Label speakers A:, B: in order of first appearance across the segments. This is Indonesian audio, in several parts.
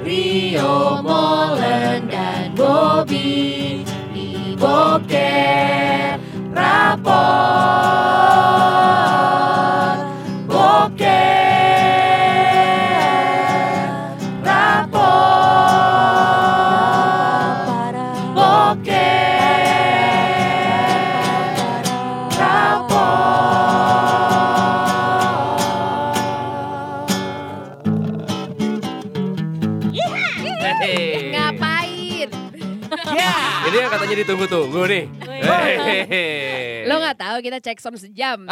A: Rio, Molen, dan Bobby di Boker Rapor. Boker Rapor. Boker Rapor.
B: Ngapain?
C: Ini yang katanya ditunggu-tunggu nih.
B: Lo nggak tahu kita cek sound sejam.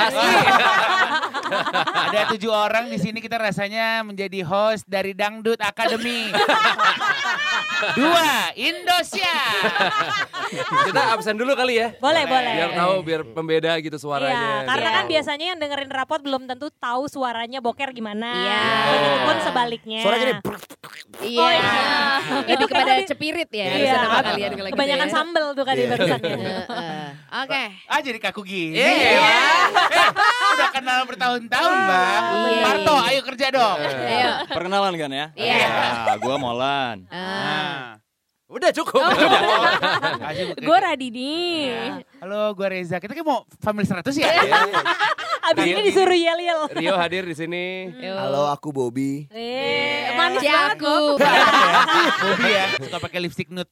D: Ada 7 orang di sini, kita rasanya menjadi host dari Dangdut Academy. 2, Indonesia.
C: Kita absen dulu kali ya.
E: Boleh.
C: Biar tahu, biar pembeda gitu suaranya.
E: Iya, karena
B: Iya.
E: kan biasanya yang dengerin rapot belum tentu tahu suaranya Boker gimana.
B: Iya.
E: Begitupun sebaliknya.
F: Suara gini.
B: Iya.
E: Oh, iya.
B: Lebih kepada cepirit ya.
E: Iya.
B: Harusnya nama kalian kalau gitu
E: Kebanyakan
B: ya.
E: sambel tuh kan di barusannya.
B: Oke.
D: Jadi kaku gini.
B: Iya.
D: Udah kenal bertahun-tahun, Bang.
B: Iya.
D: Parto, ayo kerja dong.
B: Ayo.
G: Perkenalan kan ya?
B: Iya.
G: Ya, gue Molan.
C: Udah cukup.
E: Gue Radini.
D: Halo, gue Reza. Kita kan mau Family 100 ya?
E: Abis ini disuruh yel-yel.
C: Rio hadir di sini.
F: Halo, aku Bobby.
E: Manis banget
B: Ciaku.
D: Bobby ya, suka pakai lipstick nude.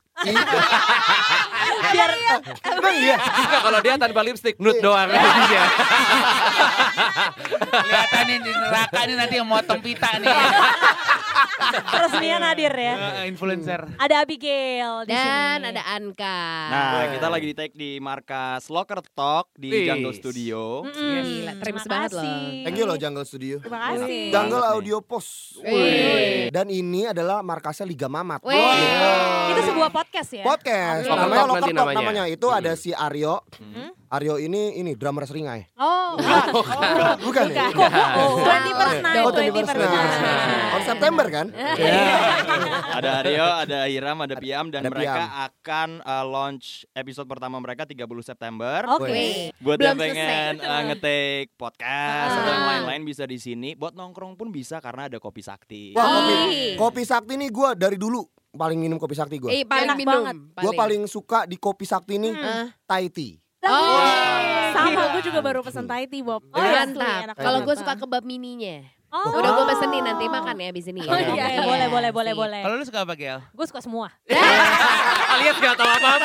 E: Biar
F: Emang iya?
C: Suka kalau dia tanpa lipstick, nude doang. Iya.
D: Kelihatan nih di neraka nih nanti yang motong pita nih.
E: peresmian hadir ya.
D: Influencer.
E: Ada Abigail di
B: Dan
E: sini.
B: ada Anka.
G: Nah, kita lagi di take di markas Locker Talk di
C: Wih.
G: Jungle Studio.
B: Gila, trims banget loh.
F: Thank you loh Jungle Studio.
E: Terima kasih.
F: Jungle Audio Post.
B: Wih.
F: Dan ini adalah markasnya Liga Mamat.
B: Wih.
E: Itu sebuah podcast ya?
F: Podcast.
C: Locker
F: Namanya
C: Talk
F: Locker
C: nanti
F: Talk
C: namanya.
F: namanya. Itu ada si Aryo. Aryo ini drummer Seringai.
E: Oh,
F: Bukan ya?
E: Kok 20% naik,
F: Oh,
E: 20%.
F: On September kan?
G: Ada Aryo, ada Hiram, ada Piam dan
F: Ada
G: mereka
F: Piam.
G: akan launch episode pertama mereka 30 September.
E: Oke.
G: Buat
B: Belum
G: yang pengen nge-take podcast atau yang lain-lain bisa di sini. Buat nongkrong pun bisa karena ada Kopi Sakti.
F: Wah,
B: Ih.
F: kopi Sakti nih gue dari dulu paling minum kopi Sakti gue.
B: Paling
E: Enak
B: minum.
E: banget.
F: Gue paling suka di kopi Sakti nih Thai tea.
B: Oh.
H: Sama, gue juga baru pesen Thai tea, Bob.
E: Oh,
H: Asli,
B: Mantap.
H: enak
B: Kalau gue
H: banget.
B: suka kebab mininya.
E: Oh.
B: Udah gue pesenin nanti makan ya abis ini.
E: Oh, iya, boleh.
D: Kalau lu suka apa, Gel?
E: Gue suka semua.
C: Kalian gak tahu apa-apa.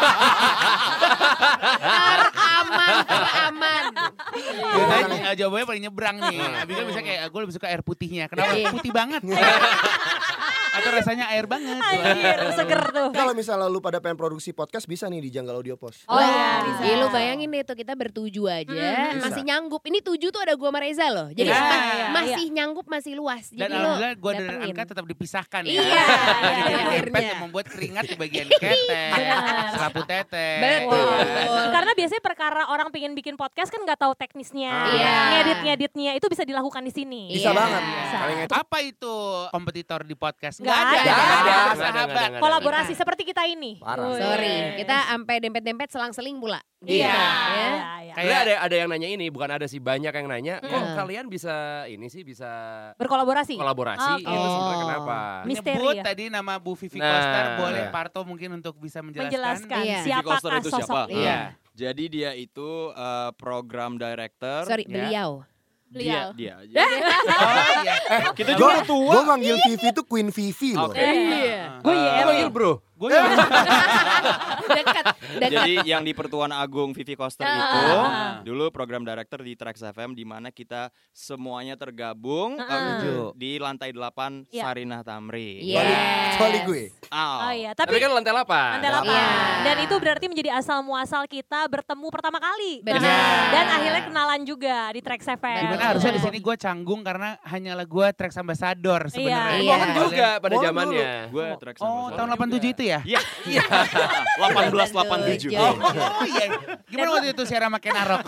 B: Aman.
D: Biasanya jawabannya paling nyebrang nih. Abis itu bisa kayak, gue lebih suka air putihnya. Kenapa?
B: Iya.
D: Putih banget. Atau rasanya air banget.
E: Anjir, seger tuh.
F: Kalau misalnya lu pada pengen produksi podcast bisa nih di Jungle Audio Post.
B: Oh
E: iya, bisa.
B: Iya, lu bayangin deh tuh kita bertuju aja. Masih nyanggup. Ini 7 tuh ada gue sama Reza loh. Jadi
D: Iya.
B: masih nyanggup, masih luas.
D: Dan
B: Jadi lo
D: alhamdulillah gue dan
B: datengin.
D: Anka tetap dipisahkan ya.
B: Iya,
D: Jadi
B: akhirnya.
D: dempet yang membuat keringat di bagian ketek, serapu tete.
B: Betul.
E: Karena biasanya perkara orang pengen bikin podcast kan nggak tahu teknisnya,
B: Iya.
E: ngeditnya itu bisa dilakukan di sini.
F: Bisa
B: Iya.
F: banget.
E: Bisa.
F: Paling itu
D: Apa itu kompetitor di podcast?
E: Nggak ada.
D: Nggak ada.
C: Nggak ada,
D: Sahabat.
C: nggak ada.
E: Kolaborasi seperti kita ini.
F: parah.
B: Sorry, kita sampai dempet-dempet selang-seling pula.
E: Iya.
B: Ya.
E: Iya.
C: Sebenarnya ada yang nanya ini, bukan ada sih, banyak yang nanya. Kok
B: Mm.
C: kalian bisa
E: Berkolaborasi.
C: kolaborasi?
E: Oke.
C: Itu sebenarnya kenapa?
E: Misteri
D: Menyebut
E: ya.
D: tadi nama Bu Vivi
C: Nah.
D: Koster, boleh
C: Iya.
D: Parto mungkin untuk bisa menjelaskan.
E: Menjelaskan
B: Iya.
G: Vivi Koster
E: siapakah
G: itu
E: sosok
G: siapa?
E: ini.
B: Iya.
G: Jadi dia itu program director.
B: Sorry,
D: Ya.
B: beliau.
G: Dia aja.
D: Oh iya.
G: Kita juga tua.
F: Gue manggil Vivi tuh Queen Vivi loh.
G: Oke.
B: Iya.
E: Gue YL.
C: Bro.
D: Gue
B: Dekat.
G: Jadi yang di Pertuan Agung Vivi Koster itu dulu program director di Trax FM di mana kita semuanya tergabung di lantai 8
E: Iya.
G: Sarinah Tamri.
B: Iya.
F: Kecuali gue.
E: Oh iya,
C: Tapi
E: tapi
C: kan lantai 8.
E: lantai 8.
B: Iya.
E: Dan itu berarti menjadi asal muasal kita bertemu pertama kali.
B: Benar.
E: Dan akhirnya kenalan juga di Trax FM.
D: Gimana harusnya di sini gue canggung karena hanyalah gue Trax Ambassador sebenarnya.
B: Iya.
C: Kan juga pada
F: Oh,
C: zamannya.
G: Gue Trax
D: Oh, tahun 87 itu ya?
G: Iya. 1887.
D: Oh iya. Gimana waktu itu Sierra makin Arok?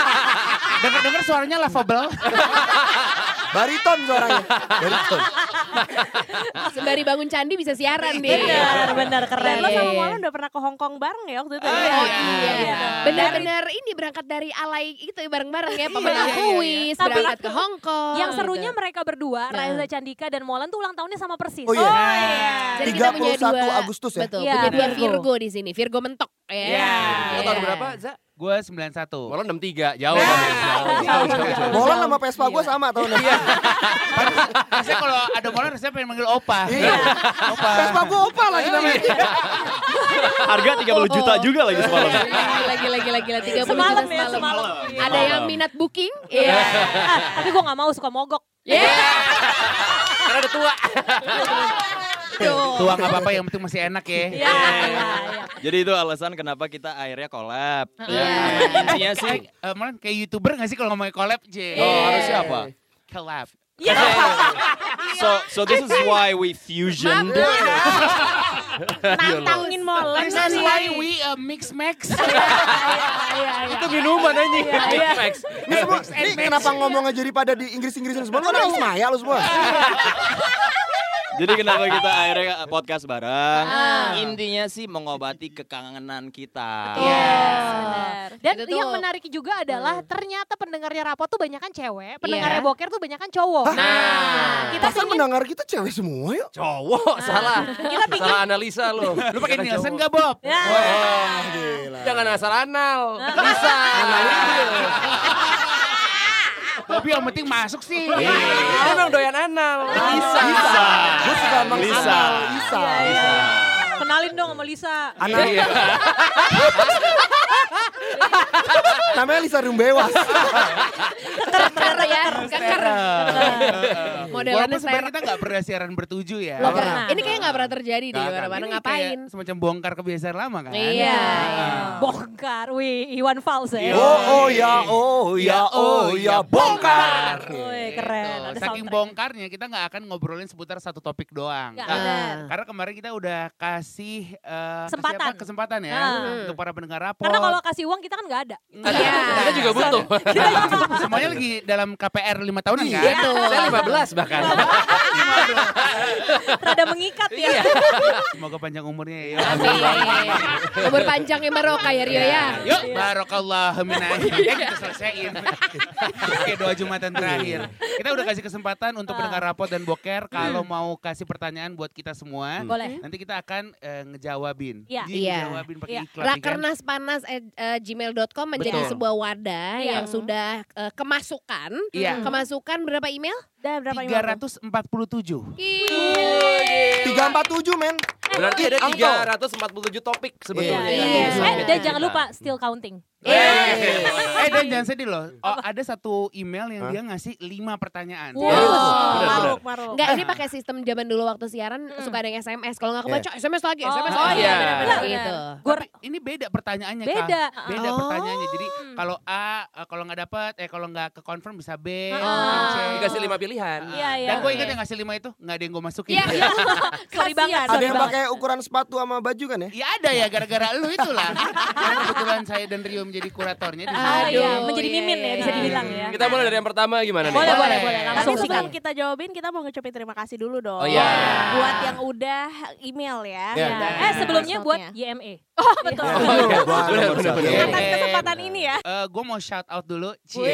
D: Dengar-dengar suaranya lovable.
F: Bariton suaranya. Bariton.
B: Sembari bangun candi bisa siaran dia.
E: Benar keren.
H: Dan lo sama Molan udah pernah ke Hong Kong bareng ya waktu itu ya?
B: Oh iya.
H: Iya.
B: Benar-benar ini berangkat dari alay itu bareng-bareng ya. Pemenang
D: Iya.
B: kuis,
E: Tapi
B: berangkat ke Hong Kong.
E: Yang serunya
B: gitu.
E: mereka berdua,
B: Nah.
E: Reza Candika dan Molan tuh ulang tahunnya sama persis.
F: Oh iya.
B: Jadi kita punya
F: 31
B: dua,
F: Agustus ya?
B: Betul,
E: Iya,
B: punya dua
E: Virgo.
B: Virgo di sini. Virgo mentok ya.
D: Iya.
C: Lo tahun berapa, Za?
D: Gue 91.
C: Molan 63, jauh.
D: Jauh.
F: Molan sama Vespa gue sama tahunnya.
D: Rasanya kalau ada Molan rasanya pengen manggil Opa.
F: Iya.
D: Opa.
F: Vespa gue Opa lagi namanya.
G: Harga 30 juta juga lagi semalam.
B: Lagi 30
E: Semalam
B: juta
E: ya,
B: semalam.
E: semalam.
B: Ada yang minat booking? Iya.
E: Tapi gue gak mau, suka mogok.
C: Karena udah tua.
D: Tua gak apa-apa, yang penting masih enak ya.
E: Iya.
G: Jadi itu alasan kenapa kita akhirnya collab.
B: Iya.
G: Intinya sih
D: Molan kayak YouTuber gak sih kalau ngomongin collab, J?
G: harusnya apa?
D: Collab.
G: So this is why we fusion.
H: Nantangin Molan
D: That's
H: sih.
D: why we mix-max.
C: Itu minuman anjing. Max.
F: Ini semua, ini kenapa ngomongnya jadi pada di Inggris-Inggrisin semua? Lu kan Ismaya lu semua.
G: Jadi kenapa kita akhirnya podcast bareng? Intinya sih mengobati kekangenan kita.
E: Benar. Dan
B: Itu tuh-
E: yang menarik juga adalah ternyata pendengarnya Rapot tuh banyak kan cewek, pendengarnya
B: Iya.
E: Boker tuh banyak kan cowok.
B: Nah,
E: kita
F: Pasan mendengar kita cewek semua yuk.
C: Cowok, salah.
E: Kita pingin
C: Salah analisa lo.
D: Lu pakai Nielsen gak, Bob?
E: ya.
F: Gila.
C: Jangan asal anal. Bisa.
D: Bobi yang penting masuk sih.
C: Dia memang doyan anal. Bisa.
F: Gue suka emang
G: Lisa.
F: anal, Lisa.
E: Kenalin dong sama Lisa.
F: Anak. Namanya Lisa Rumbewas.
B: keker ya, keker. Modelannya
D: Walaupun sebenarnya
B: ter.
D: kita gak pernah siaran bertuju ya.
B: Lo
E: pernah.
B: Ini kayaknya gak pernah terjadi deh,
D: Nggak,
B: mana-mana
D: ini
B: ngapain.
D: kayak semacam bongkar kebiasaan lama kan.
B: Iya.
E: Bongkar, wih Iwan Fals ya.
F: Oh ya, bongkar.
E: Wih, keren. Ada
D: Saking
E: soundtrack.
D: bongkarnya kita nggak akan ngobrolin seputar satu topik doang.
E: Nggak,
D: Nah,
E: benar.
D: karena kemarin kita udah kasih
E: Kesempatan.
D: kesempatan ya untuk para pendengar rapot.
E: Karena kalau kasih uang kita kan nggak ada.
B: Iya.
C: Kita juga butuh.
D: Semuanya lagi dalam KPR 5 tahunan kan?
B: Iya.
C: Saya 15 bahkan.
E: Rada mengikat ya.
D: Semoga panjang umurnya ya.
B: Amin. Umur panjangnya Maroka ya Rio ya.
D: Yuk, barokallahu minaik. Ya kita selesaiin. Oke, doa Jumatan terakhir. Kita udah kasih kesempatan untuk pendengar rapot dan boker kalau mau kasih pertanyaan buat kita semua.
E: Boleh.
D: Nanti kita akan ngejawabin.
E: Iya.
D: Jadi
B: Iya.
D: ngejawabin pakai
E: Iya.
D: iklan. ya kan?
B: Rakernaspanas@gmail.com menjadi
D: Betul.
B: sebuah wadah
E: Iya.
B: yang sudah kemasukan.
D: Iya.
B: Kemasukan berapa email?
H: Udah berapa email?
D: 347.
F: 347 men.
C: Berarti ada
F: Angko.
C: 347 topik sebetulnya.
B: Iya.
E: Dan jangan lupa still counting.
D: Dan jangan sedih loh. Oh, ada satu email yang dia ngasih 5 pertanyaan.
H: Maruk.
B: Enggak, ini pakai sistem zaman dulu waktu siaran suka ada yang SMS. Kalau nggak kebaca, SMS lagi, SMS
E: Oh,
B: lagi.
C: iya.
B: Benar-benar gitu.
D: Tapi ini beda pertanyaannya Kak.
E: Beda.
D: Beda
B: Oh.
D: pertanyaannya. Jadi kalau A, kalau nggak dapat, kalau nggak ke confirm bisa B,
E: Oh.
D: C.
C: Dikasih 5 pilihan.
E: Iya, iya.
D: Dan gue ingat yang ngasih 5 itu nggak ada yang gue masukin.
B: Iya, iya.
E: Sorry banget.
F: Ada
E: sorry
F: yang
E: banget.
F: pakai ukuran sepatu sama baju kan ya?
D: Ya ada ya gara-gara lu itulah. Karena kebetulan saya dan Rio menjadi kuratornya di sini.
E: Oh iya,
B: Aduh,
E: menjadi
B: iya,
E: mimin ya
B: iya.
E: bisa dibilang ya.
C: Kita mulai dari yang pertama gimana nih?
E: Boleh, boleh.
H: Tapi
E: Langsung
H: sebelum
E: sikat.
H: kita jawabin, kita mau ngucapin terima kasih dulu dong.
C: Oh, iya.
H: Buat yang udah email ya.
F: Iya.
E: Ya. Sebelumnya buat
H: Voice
E: YME.
H: Oh betul.
C: Benar.
H: Atas kesempatan ini ya.
D: Gue mau shout out dulu.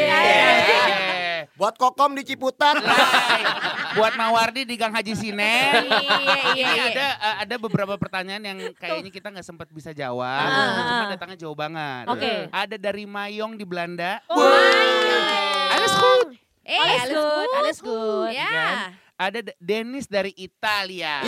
F: Buat Kokom di Ciputat.
D: Buat Mawardi di Gang Haji Sinen.
B: Iya.
D: Ini ada beberapa pertanyaan yang kayaknya kita nggak sempat bisa jawab. Cuma datangnya jauh banget.
E: Oke.
D: Ada dari Mayong di Belanda.
B: Alles
D: goed.
B: Alles good.
E: Alles good.
B: Ya.
D: Ada Dennis dari Italia.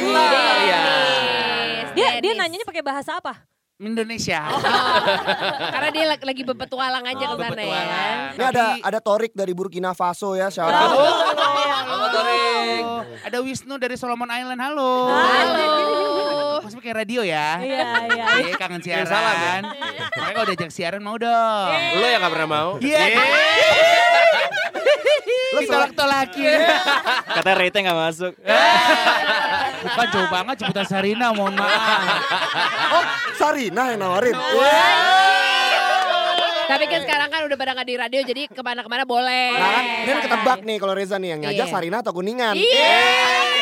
E: Dia nanyanya pakai bahasa apa?
D: Indonesia.
B: Karena dia lagi berpetualang aja ke sana ya.
F: Ini ada Torik dari Burkina Faso ya, shout out.
C: Halo Torik.
D: Ada Wisnu dari Solomon Island. Halo.
B: Halo.
D: Masih pakai radio ya?
E: Iya, iya.
D: Iya, kangen siaran.
C: salam ya.
D: Makanya kalau diajak siaran mau dong.
C: Lo yang gak pernah mau?
D: Iya. Ditolak-tolakin.
G: Katanya rate nggak masuk.
D: Bukan jauh banget Ciputat Sarina, mohon maaf.
F: Oh, Sarina yang nawarin.
B: Tapi kan sekarang kan udah pada nggak di radio jadi kemana-kemana boleh.
F: Nah kan, ini kan ketebak nih kalau Reza nih yang ngajak
B: Iya.
F: Sarina atau Kuningan.
B: Iya.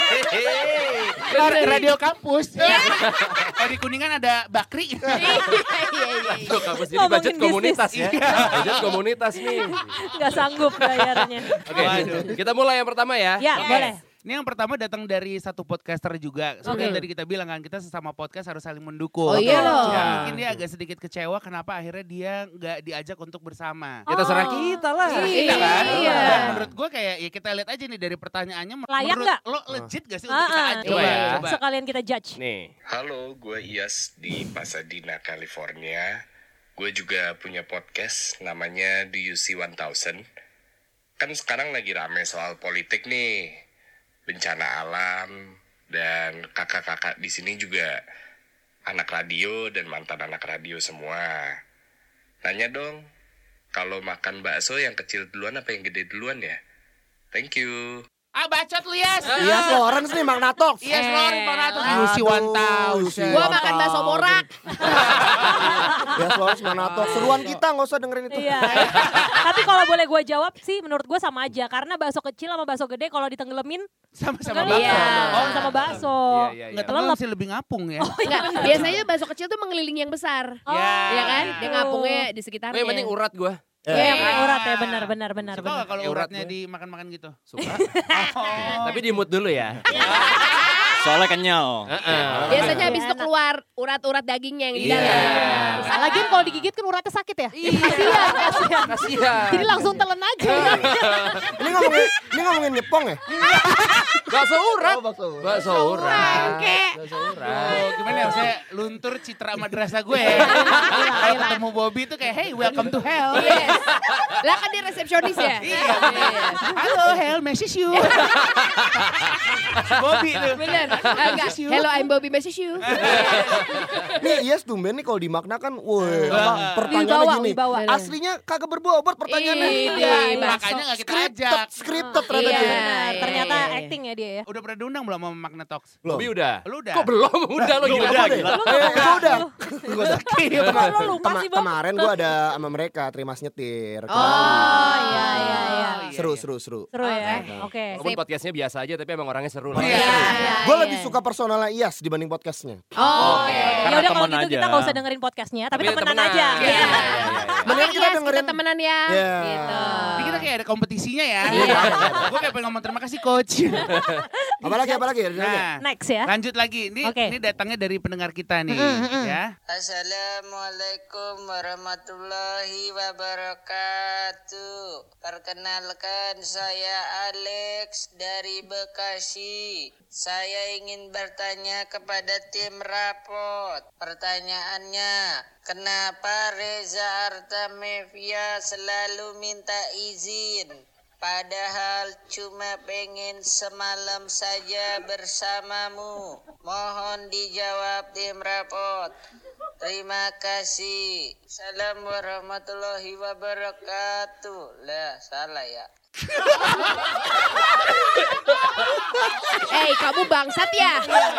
D: Radio kampus. Kalau di Kuningan ada Bakri.
C: Itu kampus jadi
E: Ngomongin
C: budget komunitas ya. Budget komunitas nih.
E: Nggak sanggup bayarnya.
C: Oke, kita mulai yang pertama ya.
E: Ya, boleh.
D: Ini yang pertama datang dari satu podcaster juga. Seperti yang tadi kita bilang kan, kita sesama podcast harus saling mendukung.
B: Oh iya loh.
D: Ya, mungkin dia agak sedikit kecewa kenapa akhirnya dia nggak diajak untuk bersama.
C: Ya terserah kita lah.
D: Iya kan?
B: Iya.
D: Dan menurut gue kayak ya kita lihat aja nih dari pertanyaannya.
E: Layak
D: menurut
E: nggak?
D: lo legit gak sih untuk kita ajak?
C: Coba ya.
D: Coba.
E: Sekalian kita judge.
C: Nih.
I: Halo, gue Iyas di Pasadena, California. Gue juga punya podcast namanya Do You See 1000. Kan sekarang lagi rame soal politik nih, bencana alam, dan kakak-kakak di sini juga anak radio dan mantan anak radio semua. Nanya dong, kalau makan bakso yang kecil duluan apa yang gede duluan ya? Thank you.
D: Ah bacot lu Yas.
F: Iya, Lawrence nih Magnatox.
D: Iya, Lawrence Magnatox.
F: Aduh,
D: Yusi 1000.
B: Gua makan bakso morak.
F: Ya, Lawrence Magnatox. Seruan kita nggak usah dengerin itu.
E: Iya. Tapi kalau boleh gue jawab sih menurut gue sama aja. Karena bakso kecil sama bakso gede kalau ditenggelamin
D: Sama-sama
E: tenggelam.
D: bakso.
B: Iya.
E: Sama bakso.
C: Iya.
D: Nggak tenggelam sih lebih ngapung ya.
B: Enggak, biasanya bakso kecil tuh mengelilingi yang besar. Ya kan?
E: gitu.
B: Dia ngapungnya di
C: Oh,
B: sekitarnya.
C: yang penting urat gua.
E: Iya, yang urat ya benar.
D: Suka nggak kalau
C: Ya, urat
D: uratnya
C: gue.
D: dimakan-makan gitu?
C: Suka. Tapi di mood dulu ya.
G: Soalnya kenyal.
B: Biasanya habis itu keluar urat-urat dagingnya yang di
C: Iya.
B: dalam.
E: Lagian kalau digigit kan uratnya sakit ya.
C: Kasihan.
E: Jadi langsung telan aja.
F: Ini ngomongin nyepong ya?
C: Bakso urat.
F: Oh, bakso.
C: Bakso urat. Bakso urat.
D: Oh, gimana ya, saya luntur citra madrasah gue. Kalau ketemu Bobby tuh kayak, hey welcome to hell.
B: Yes. Lah kan dia resepsionis ya?
D: Iya. Halo hell, message you. Bobby tuh.
B: Bener. Enggak. Hello, I'm Bobby message you.
F: Nih, Yes tumben nih kalau di makna kan, woi,
B: Wibawa,
F: pertanyaannya gini.
E: wibawa.
F: Aslinya kagak berbobot pertanyaannya.
B: Iya,
D: Makanya gak kita ajak.
F: Scripted ternyata
B: Iya.
F: dia.
E: Ternyata
B: Iya.
E: acting ya dia ya.
D: Udah pernah diundang belum sama Magna Talks?
F: Belum.
C: Bobby udah.
D: Lu udah?
C: Kok belum? Udah lo gila.
G: Udah, gila.
F: Gue udah. Gue udah.
E: Lo lupa sih, Bob.
F: Kemarin gue ada sama mereka terima nyetir.
E: Oh iya.
F: Seru.
E: Seru ya. Oke.
C: Walaupun podcastnya biasa aja tapi emang orangnya seru lah.
D: Iya.
F: Gue lebih suka personalnya Iyas dibanding podcastnya.
B: Oh,
E: Ya
G: Karena
E: udah kalau
G: temen
E: gitu kita
G: aja.
E: nggak usah dengerin podcastnya, tapi
C: Tapi
E: temenan
C: temenan.
E: aja.
C: Iya.
F: Mendingan kita
B: Yes,
F: dengerin.
B: kita temenan ya.
F: Iya.
B: Gitu.
D: Ini kita kayak ada kompetisinya ya. Gue kayak pengen ngomong terima kasih coach.
F: Apalagi?
D: Nah,
E: Next ya.
D: lanjut lagi.
E: Oke.
D: Ini datangnya dari pendengar kita nih. Ya.
J: Assalamualaikum warahmatullahi wabarakatuh. Perkenalkan saya Alex dari Bekasi. Saya ingin bertanya kepada tim rapot. Pertanyaannya, kenapa Reza Artamevia selalu minta izin? Padahal cuma pengen semalam saja bersamamu. Mohon dijawab tim rapot. Terima kasih. Salam warahmatullahi wabarakatuh. Lah, salah ya.
B: Kamu bangsat ya?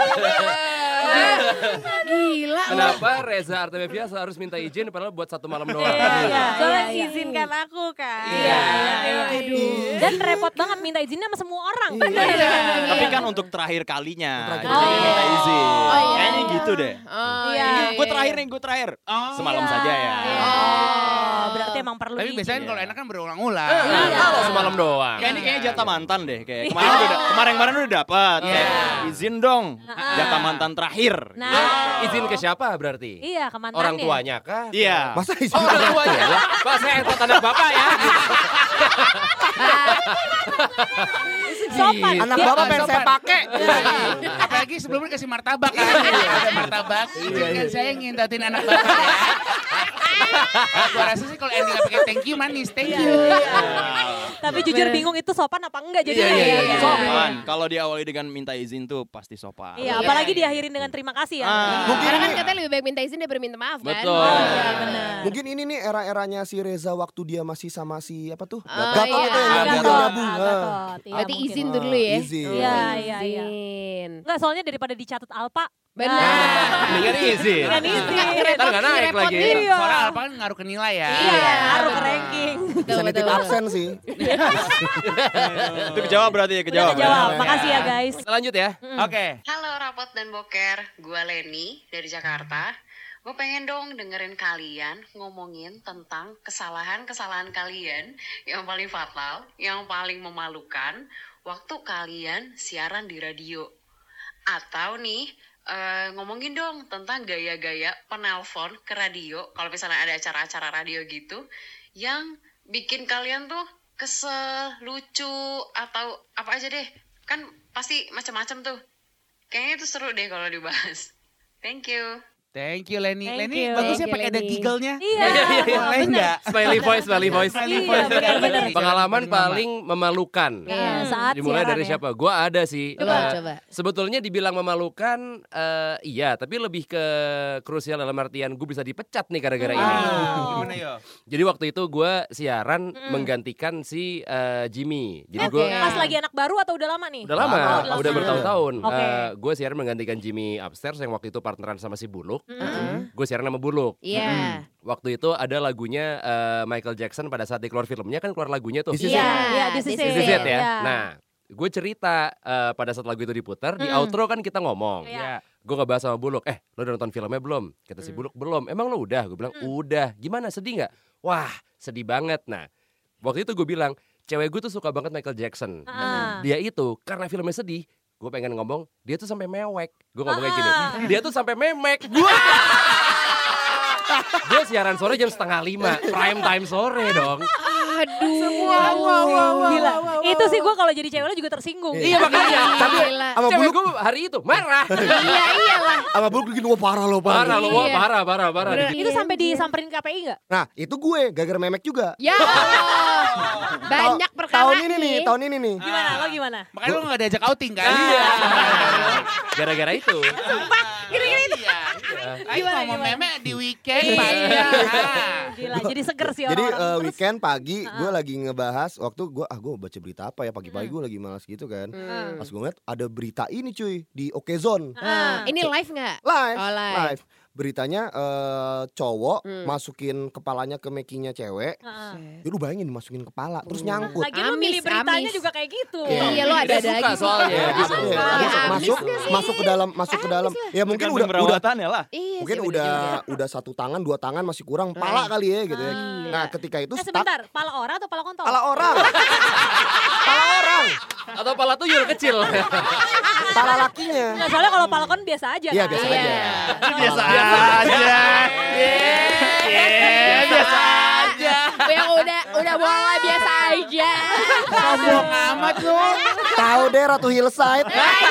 B: Gila lu.
C: Kenapa Reza Artamevia harus minta izin padahal buat satu malam doang?
H: Soalnya izinkan aku kan.
E: Iya. Dan repot banget minta izinnya sama semua orang.
G: Tapi kan untuk terakhir kalinya.
F: Terakhir
G: Jadi
E: kalinya.
G: minta izin.
B: iya.
G: Kayaknya gitu deh.
E: Iya.
G: Gue terakhir nih, gue terakhir. Semalam saja ya.
E: Oh, berarti emang perlu
D: Tapi
E: izin.
D: biasanya kalau enak kan berulang-ulang.
C: Kalau semalam doang.
G: Kayak ini kayaknya jatah mantan deh. Kayak kemarin udah dapat.
D: Iya.
G: Kayak, izin dong. Jatah mantan terakhir.
E: Nah,
C: Izin ke siapa berarti?
E: iya ke mantannya.
C: Orang tuanya kah?
G: Iya.
F: Masa izin
C: Oh, orang tuanya. Pak, saya entot anak bapak ya.
E: Sopan.
F: Anak
E: Dia-
F: bapak pengen saya pakai.
D: Apalagi sebelumnya kasih martabak kan. Ada martabak. Izinkan saya ngintatin anak bapak ya. Gua rasa sih kalau ending pakai thank you manis. Thank you.
E: Tapi jujur bingung itu sopan apa enggak jadi.
C: Iya.
G: Sopan. Kalau diawali dengan minta izin tuh pasti sopan.
E: Iya, apalagi diakhirin dengan terima kasih ya.
F: Mungkin
B: Karena kan
F: ini,
B: katanya lebih baik minta izin daripada minta maaf kan?
C: Betul.
E: Iya, benar.
F: mungkin ini nih era-eranya si Reza waktu dia masih sama si apa tuh?
B: Oh,
F: Gatot
B: iya.
F: itu yang
E: Gatot,
F: nyambung.
E: Gatot. Iya,
B: Berarti
E: mungkin.
B: izin dulu ya?
F: Izin.
E: Iya.
B: Izin.
E: Enggak, soalnya daripada dicatat Alpa,
B: Benar.
C: Mendingan izin.
E: Mendingan izin.
C: Ntar nggak naik lagi.
E: Iya.
D: Soalnya apa kan ngaruh ke nilai ya.
E: Iya, ngaruh ke ranking.
F: Bisa nitip absen sih.
G: Itu kejawab berarti ya, kejawab.
E: Jawab. Makasih ya guys.
C: Kita lanjut ya.
D: Oke.
J: Halo Rapot dan Boker, gue Leni dari Jakarta. Gue pengen dong dengerin kalian ngomongin tentang kesalahan-kesalahan kalian yang paling fatal, yang paling memalukan waktu kalian siaran di radio. Atau nih, ngomongin dong tentang gaya-gaya penelpon ke radio, kalau misalnya ada acara-acara radio gitu, yang bikin kalian tuh kesel, lucu, atau apa aja deh. Kan pasti macam-macam tuh. Kayaknya itu seru deh kalau dibahas. Thank you.
D: Thank you Leni.
E: Thank
D: Leni
E: you.
D: bagus ya
B: Thank you,
D: pakai ada
B: Leni.
D: giggle-nya.
E: Iya.
D: Boleh enggak?
C: Smiley voice, smiley voice.
E: Iya, benar-benar.
C: Pengalaman paling memalukan.
E: Iya, saat
C: Dimulai
E: siaran
C: dari
E: ya.
C: siapa? Gua ada sih.
B: Coba.
C: Sebetulnya dibilang memalukan, iya. Tapi lebih ke krusial dalam artian gue bisa dipecat nih gara-gara ini.
D: Gimana yo?
C: Jadi waktu itu gue siaran menggantikan si Jimmy. Jadi gue
E: Pas lagi anak baru atau udah lama nih?
C: udah lama,
E: Oh,
C: udah bertahun-tahun.
E: Oke.
C: Gue siaran menggantikan Jimmy upstairs yang waktu itu partneran sama si Buluk. Gue siaran sama Buluk.
B: Iya.
C: Waktu itu ada lagunya Michael Jackson pada saat dia keluar filmnya kan keluar lagunya tuh.
F: This is
B: Iya.
E: Iya, this is
B: This is
C: This is
B: it.
C: it ya.
E: Iya.
C: Nah, gue cerita pada saat lagu itu diputar di outro kan kita ngomong.
E: Iya.
C: Gue ngebahas sama Buluk, lo udah nonton filmnya belum? Kata si Buluk, belum. Emang lo udah? Gue bilang, udah. Gimana, sedih gak? Wah, sedih banget. Nah, waktu itu gue bilang, cewek gue tuh suka banget Michael Jackson. Dia itu, karena filmnya sedih, gue pengen ngomong, dia tuh sampai mewek. Gue ngomongnya gini, dia tuh sampai memek. Gue siaran sore jam 4:30, prime time sore dong.
B: Aduh.
E: Gila. Itu sih gue kalau jadi cewek lo juga tersinggung.
C: Iya makanya.
F: Tapi
B: Gila.
F: sama
C: Cewek
F: Buluk,
C: gue hari itu marah.
B: Iya iyalah.
F: sama Buluk bikin wah parah loh.
C: Parah lo, wah,
B: Iya.
C: parah.
E: Itu sampai disamperin KPI nggak?
F: Nah itu gue gara-gara memek juga.
B: Ya Allah. Banyak perkara
F: Tahun ini nih.
E: Gimana? Lo gimana?
D: Makanya lo gak diajak outing kan?
C: Iya. Gara-gara itu.
D: Gini-gini itu. Ayo ngomong meme di weekend panjang.
E: Gila, jadi seger sih
F: Jadi
E: orang-orang. Terus,
F: weekend pagi gue lagi ngebahas waktu gue baca berita apa ya pagi-pagi gue lagi malas gitu kan. Pas gue ngeliat ada berita ini cuy di Okezone.
B: Ini live nggak?
F: Live,
B: Oh, live.
F: Beritanya cowok masukin kepalanya ke mekinya cewek. Ya lu bayangin dimasukin kepala terus nyangkut.
E: lagi lo milih beritanya
B: amis.
E: juga kayak gitu.
B: Iya lo ada
C: Dia suka
B: lagi
C: soalnya.
F: Iya,
C: Dia suka.
F: masuk ke dalam. Ya mungkin udah
G: perawatannya lah.
B: Iya
F: mungkin
B: sih, bener juga.
F: udah 1 tangan 2 tangan masih kurang pala kali ya gitu ya. Nah, ketika itu stuck
E: Sebentar, pala orang atau pala kontol?
F: pala orang. Pala orang.
C: Atau pala tuyul kecil.
F: Pala lakinya.
E: Nggak, soalnya kalau pala kon biasa aja
F: Iya,
E: kan?
F: biasa
B: Iya.
F: aja.
D: Biasa aja. Biasa aja.
B: Yang udah boleh biasa aja.
D: Sombong amat lu.
F: Tahu deh Ratu Hillside.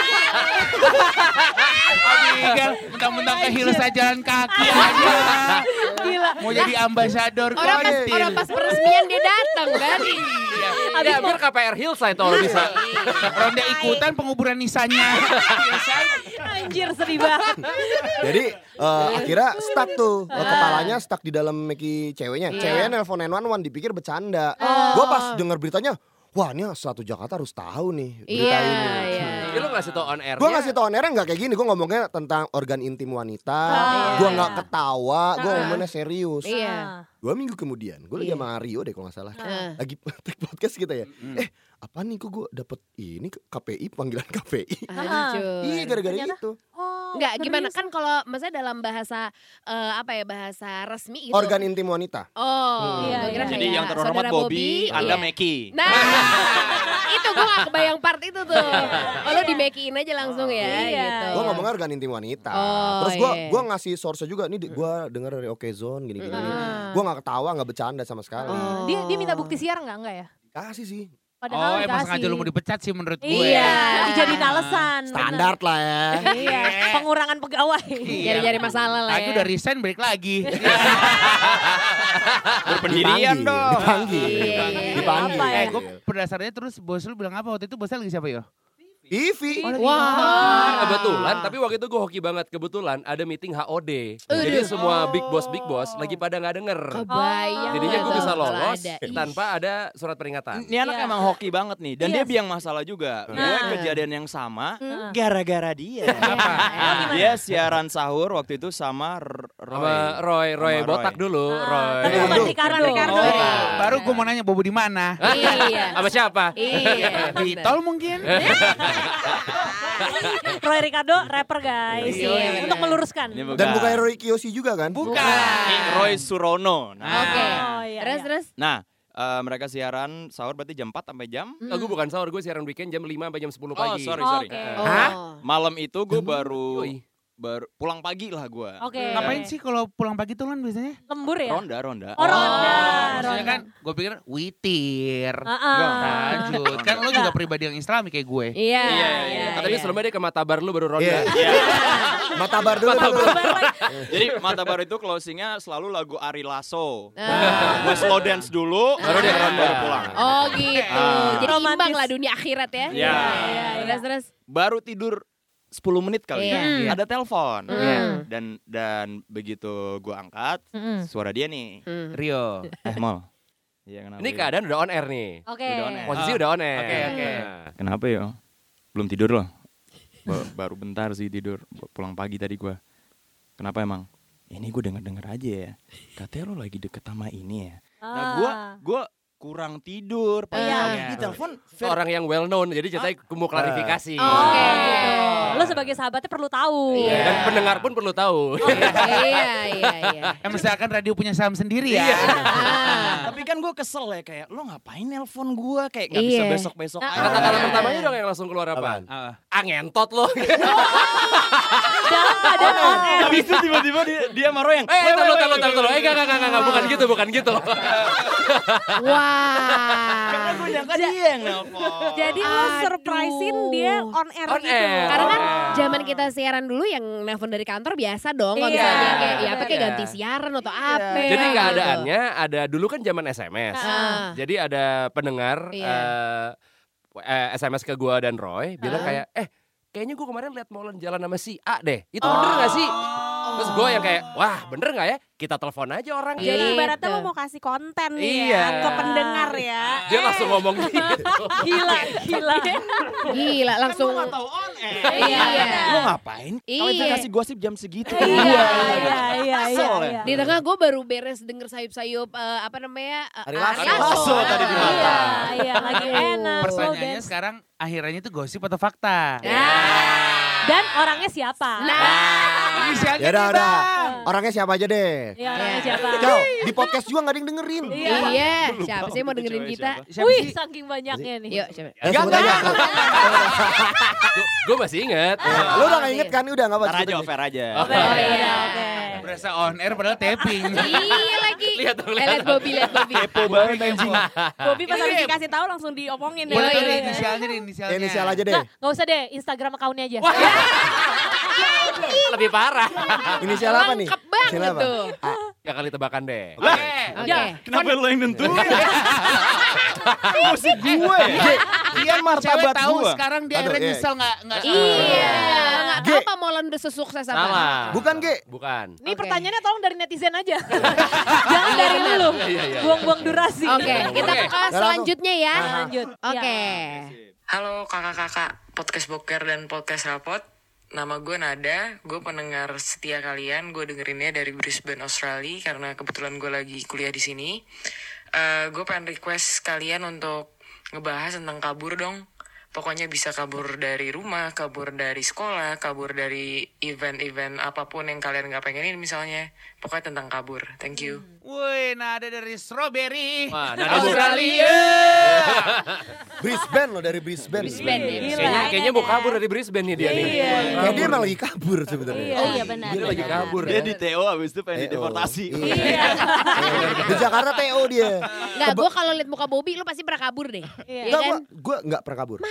D: Abigail, mentang-mentang ke hillside jalan kaki aja.
E: Gila.
D: Mau jadi ambasador
B: Orang pas peresmian dia datang kan.
D: Iya.
C: Ya biar KPR Hillside kalau bisa.
D: Ronda ikutan penguburan nisanya.
E: Anjir, sedih banget.
F: Jadi akhirnya stuck tuh. Kepalanya stuck di dalam meki ceweknya. Ceweknya nelpon 911 dipikir bercanda. Gue pas denger beritanya, wah ini satu Jakarta harus tahu nih berita
B: Iya,
F: ini.
B: iya.
C: Jadi lu ngasih tau on air.
F: Gue ngasih tau on airnya gak kayak gini. Gue ngomongnya tentang organ intim wanita. Gue gak ketawa. Gue ngomongnya serius.
B: Iya.
F: 2 minggu kemudian gue lagi sama Rio deh kalau gak salah. Lagi take podcast kita ya. Apa nih kok gue dapet ini KPI, panggilan KPI. Iya gara-gara itu.
B: Enggak, gimana kan kalau maksudnya dalam bahasa bahasa resmi gitu.
F: Organ intim wanita.
B: Oh,
E: Iya,
B: gua kira
G: Jadi
B: kayak
G: yang terhormat
B: saudara
G: Bobby, Anda
B: iya.
G: Meki.
B: Nah, itu gue gak kebayang part itu tuh. Oh, lo di-makein aja langsung ya
E: Iya.
B: gitu.
F: Gue ngomongnya organ intim wanita.
B: Oh,
F: Terus
B: iya.
F: gue ngasih source juga nih. Gue denger dari Okezone gini-gini. Gue gak ketawa, gak bercanda sama sekali.
E: Dia minta bukti siar enggak ya?
F: Kasih sih.
E: Padahal
D: Emang
E: dikasih.
D: sengaja lu mau dipecat sih menurut gue.
E: Iya, dijadiin alasan.
F: Standar lah ya.
E: bener. Iya, pengurangan pegawai.
B: Nyari-nyari masalah lah
D: Aku
B: ya.
D: udah resign balik lagi.
G: Berpendirian dong.
F: Dipanggil.
B: Iya.
F: Dipanggil.
E: Apa ya?
D: Gue berdasarnya terus bos lu bilang apa waktu itu? Bosnya lagi siapa yo?
F: Ivy.
B: Wah.
C: Kebetulan, tapi waktu itu gue hoki banget. Kebetulan ada meeting HOD. Jadi semua big boss lagi pada nggak denger.
B: Kebayang.
C: Jadinya gue
B: tuh
C: bisa
B: kalau
C: lolos
B: ada. Ih.
C: tanpa ada surat peringatan.
G: Ini anak emang hoki banget nih. Dan dia biang masalah juga. Gue kejadian yang sama gara-gara dia. Dia siaran sahur waktu itu sama
C: Sama Roy
G: Sama
C: botak
G: Roy.
C: dulu. Roy.
E: Tapi bukan Ricardo.
D: Baru gue mau nanya Bobo di mana?
B: Iya.
C: Sama siapa?
B: Iya.
D: Di
B: bener.
D: tol mungkin?
E: Roy Ricardo rapper guys.
B: Iya,
E: Untuk meluruskan.
G: Ini
F: Dan bukan Roy Kiyoshi juga kan?
D: Bukan.
G: Ini Roy Surono. Nah,
B: Oke.
E: Oh, iya,
B: Terus.
G: nah mereka siaran sahur berarti jam 4 sampai jam.
C: Gue bukan sahur, gue siaran weekend jam 5 sampai jam 10 pagi.
G: sorry.
E: Oke.
G: Malam itu gue baru
C: Yoi.
G: pulang pagi lah gue.
E: Oke.
D: Ngapain sih kalau pulang pagi tuh kan biasanya?
E: Lembur ya?
G: Ronda.
E: Oh, ronda.
D: Maksudnya kan gue pikir witir.
E: Heeh.
D: Lanjut. Kan lo juga pribadi yang islami kayak gue.
B: Iya.
C: Katanya sebelumnya dia ke Matabar lu baru ronda.
F: Iya. Matabar dulu.
G: Jadi Matabar itu closingnya selalu lagu Ari Lasso. Gue slow dance dulu, baru dia ronda baru pulang.
B: Oh gitu. Jadi
E: Romantis.
B: imbang lah dunia akhirat ya.
G: Iya.
B: Terus.
G: Baru tidur 10 menit kali
B: Iya.
G: ada telepon.
B: Iya.
G: Dan begitu gue angkat, suara dia nih.
D: Rio.
G: Mol. Iya, kenapa?
C: Ini
G: ya?
C: keadaan udah on air nih.
E: Oke.
G: Udah on air.
C: Posisi udah on air.
D: Oke.
C: Nah.
G: Kenapa ya? Belum tidur loh. Baru bentar sih tidur. Pulang pagi tadi gue. Kenapa emang? Ini gue denger aja ya. Katanya lo lagi deket sama ini ya. Nah gue kurang tidur. Pagi-pagi telepon.
C: Orang yang well known, jadi ceritanya mau klarifikasi.
B: Oke.
E: Lo sebagai sahabatnya perlu tahu.
B: Iya.
C: Dan pendengar pun perlu tahu.
B: Iya.
D: Misalkan radio punya saham sendiri ya.
G: Tapi kan gue kesel ya kayak lo ngapain nelpon gue kayak nggak bisa
B: Iya.
G: besok aja.
C: Kata-kata pertamanya dong yang langsung keluar apaan? Ngentot lo.
E: Dalam keadaan on air.
G: Habis itu tiba-tiba dia marah yang.
C: Taruh. Enggak, bukan gitu.
B: Wah.
G: Karena gue nyangka dia yang nelpon.
H: Jadi lo surprisein dia on air
C: On
H: gitu.
C: air.
B: Karena kan zaman kita siaran dulu yang nelpon dari kantor biasa dong. Kalau
E: Iya.
B: misalnya kayak ya apa kayak
C: Iya.
B: ganti siaran atau apa.
C: Jadi
B: gitu.
C: keadaannya ada dulu kan zaman SMS.
B: Ah.
C: Jadi ada pendengar
B: Iya.
C: SMS ke gua dan Roy bilang kayak kayaknya gua kemarin lihat Molen jalan sama si A deh. Itu bener gak sih? Terus gua yang kayak wah bener gak ya? Kita telepon aja orangnya.
H: Jadi
B: Gitu.
H: ibaratnya lo mau kasih konten nih
C: Iya.
H: ya ke pendengar ya.
C: Dia langsung ngomong gitu.
B: Gila langsung.
G: Kan gue gak tau on air.
B: Iya.
G: Lo ngapain?
B: Iya.
G: Klarifikasi gosip jam segitu.
E: Iya.
B: Di tengah gue baru beres denger sayup-sayup apa namanya
F: Ari Lasso.
B: Ari Lasso.
G: tadi di mata.
E: Iya, lagi enak. slow
D: Pertanyaannya
E: dance.
D: sekarang akhirannya itu gosip atau fakta?
E: Dan orangnya siapa?
D: Inisialnya
F: Ya
D: nih,
F: udah.
D: Bang.
F: Orangnya siapa aja deh.
E: Iya, orangnya siapa?
F: Ciao, di podcast juga gak ada yang dengerin.
B: Iya. Siapa sih mau dengerin kita?
D: Siapa
E: Wih,
D: sih?
E: saking banyaknya nih.
B: Yuk siapa?
F: Sebut aja.
C: Gue masih inget.
F: Lu udah gak inget kan? Udah gak apa-apa.
G: Ntar aja offer aja.
B: Oh iya.
E: Oke.
D: Berasa on air padahal tapping.
B: Iya lagi.
C: Lihat dong,
B: Lihat Bobby.
G: Kepo banget anjing.
H: Bobby pas habis dikasih tahu langsung diomongin ya.
D: Boleh
B: Iya,
D: tuh
B: iya.
D: inisialnya deh, inisialnya.
F: Inisial aja deh.
E: Nggak usah deh, Instagram account-nya aja.
C: Lebih parah.
F: Inisial apa nih?
B: Lengkap banget
F: Inisial apa?
B: tuh.
C: Ya kali tebakan deh.
B: Oke.
G: Kenapa lo yang nentuin? Gosip gue ya? Dia
D: Cewek
G: martabat
D: tahu
G: gue.
D: sekarang dia
F: Aduh,
D: akhirnya
F: iya.
D: nyesel nggak.
B: Iya. Nggak tahu
F: G.
B: apa Molen udah sesukses apa.
C: Salah.
F: Bukan, Ge.
C: Bukan.
E: Ini
B: Oke.
E: pertanyaannya tolong dari netizen aja. Jangan dari lu.
C: Iya.
E: Buang-buang durasi.
B: Oke, kita ke selanjutnya ya.
E: Lanjut.
B: Oke.
J: Halo kakak-kakak podcast Boker dan podcast Rapot. Nama gue Nada, gue pendengar setia kalian. Gue dengerinnya dari Brisbane, Australia karena kebetulan gue lagi kuliah di sini. Gue pengen request kalian untuk ngebahas tentang kabur dong. Pokoknya bisa kabur dari rumah, kabur dari sekolah, kabur dari event-event apapun yang kalian gak pengenin misalnya. Pokoknya tentang kabur. Thank you.
D: Woi, nada dari Strawberry.
C: Wah, nada
D: Australia.
F: Brisbane loh, dari Brisbane.
B: Brisbane ya.
C: Kayaknya mau kabur dari Brisbane nih dia nih.
F: Kayak dia emang lagi kabur sebenarnya.
E: Oh iya benar.
C: Dia lagi kabur
G: Dia
C: ya.
G: di TO abis itu pengen dideportasi.
F: Iya. Di Jakarta TO dia.
B: Nggak, gue kalau liat muka Bobby lu pasti pernah kabur deh.
E: Iya.
B: Iya
F: Enggak,
B: kan?
F: gue gak pernah kabur.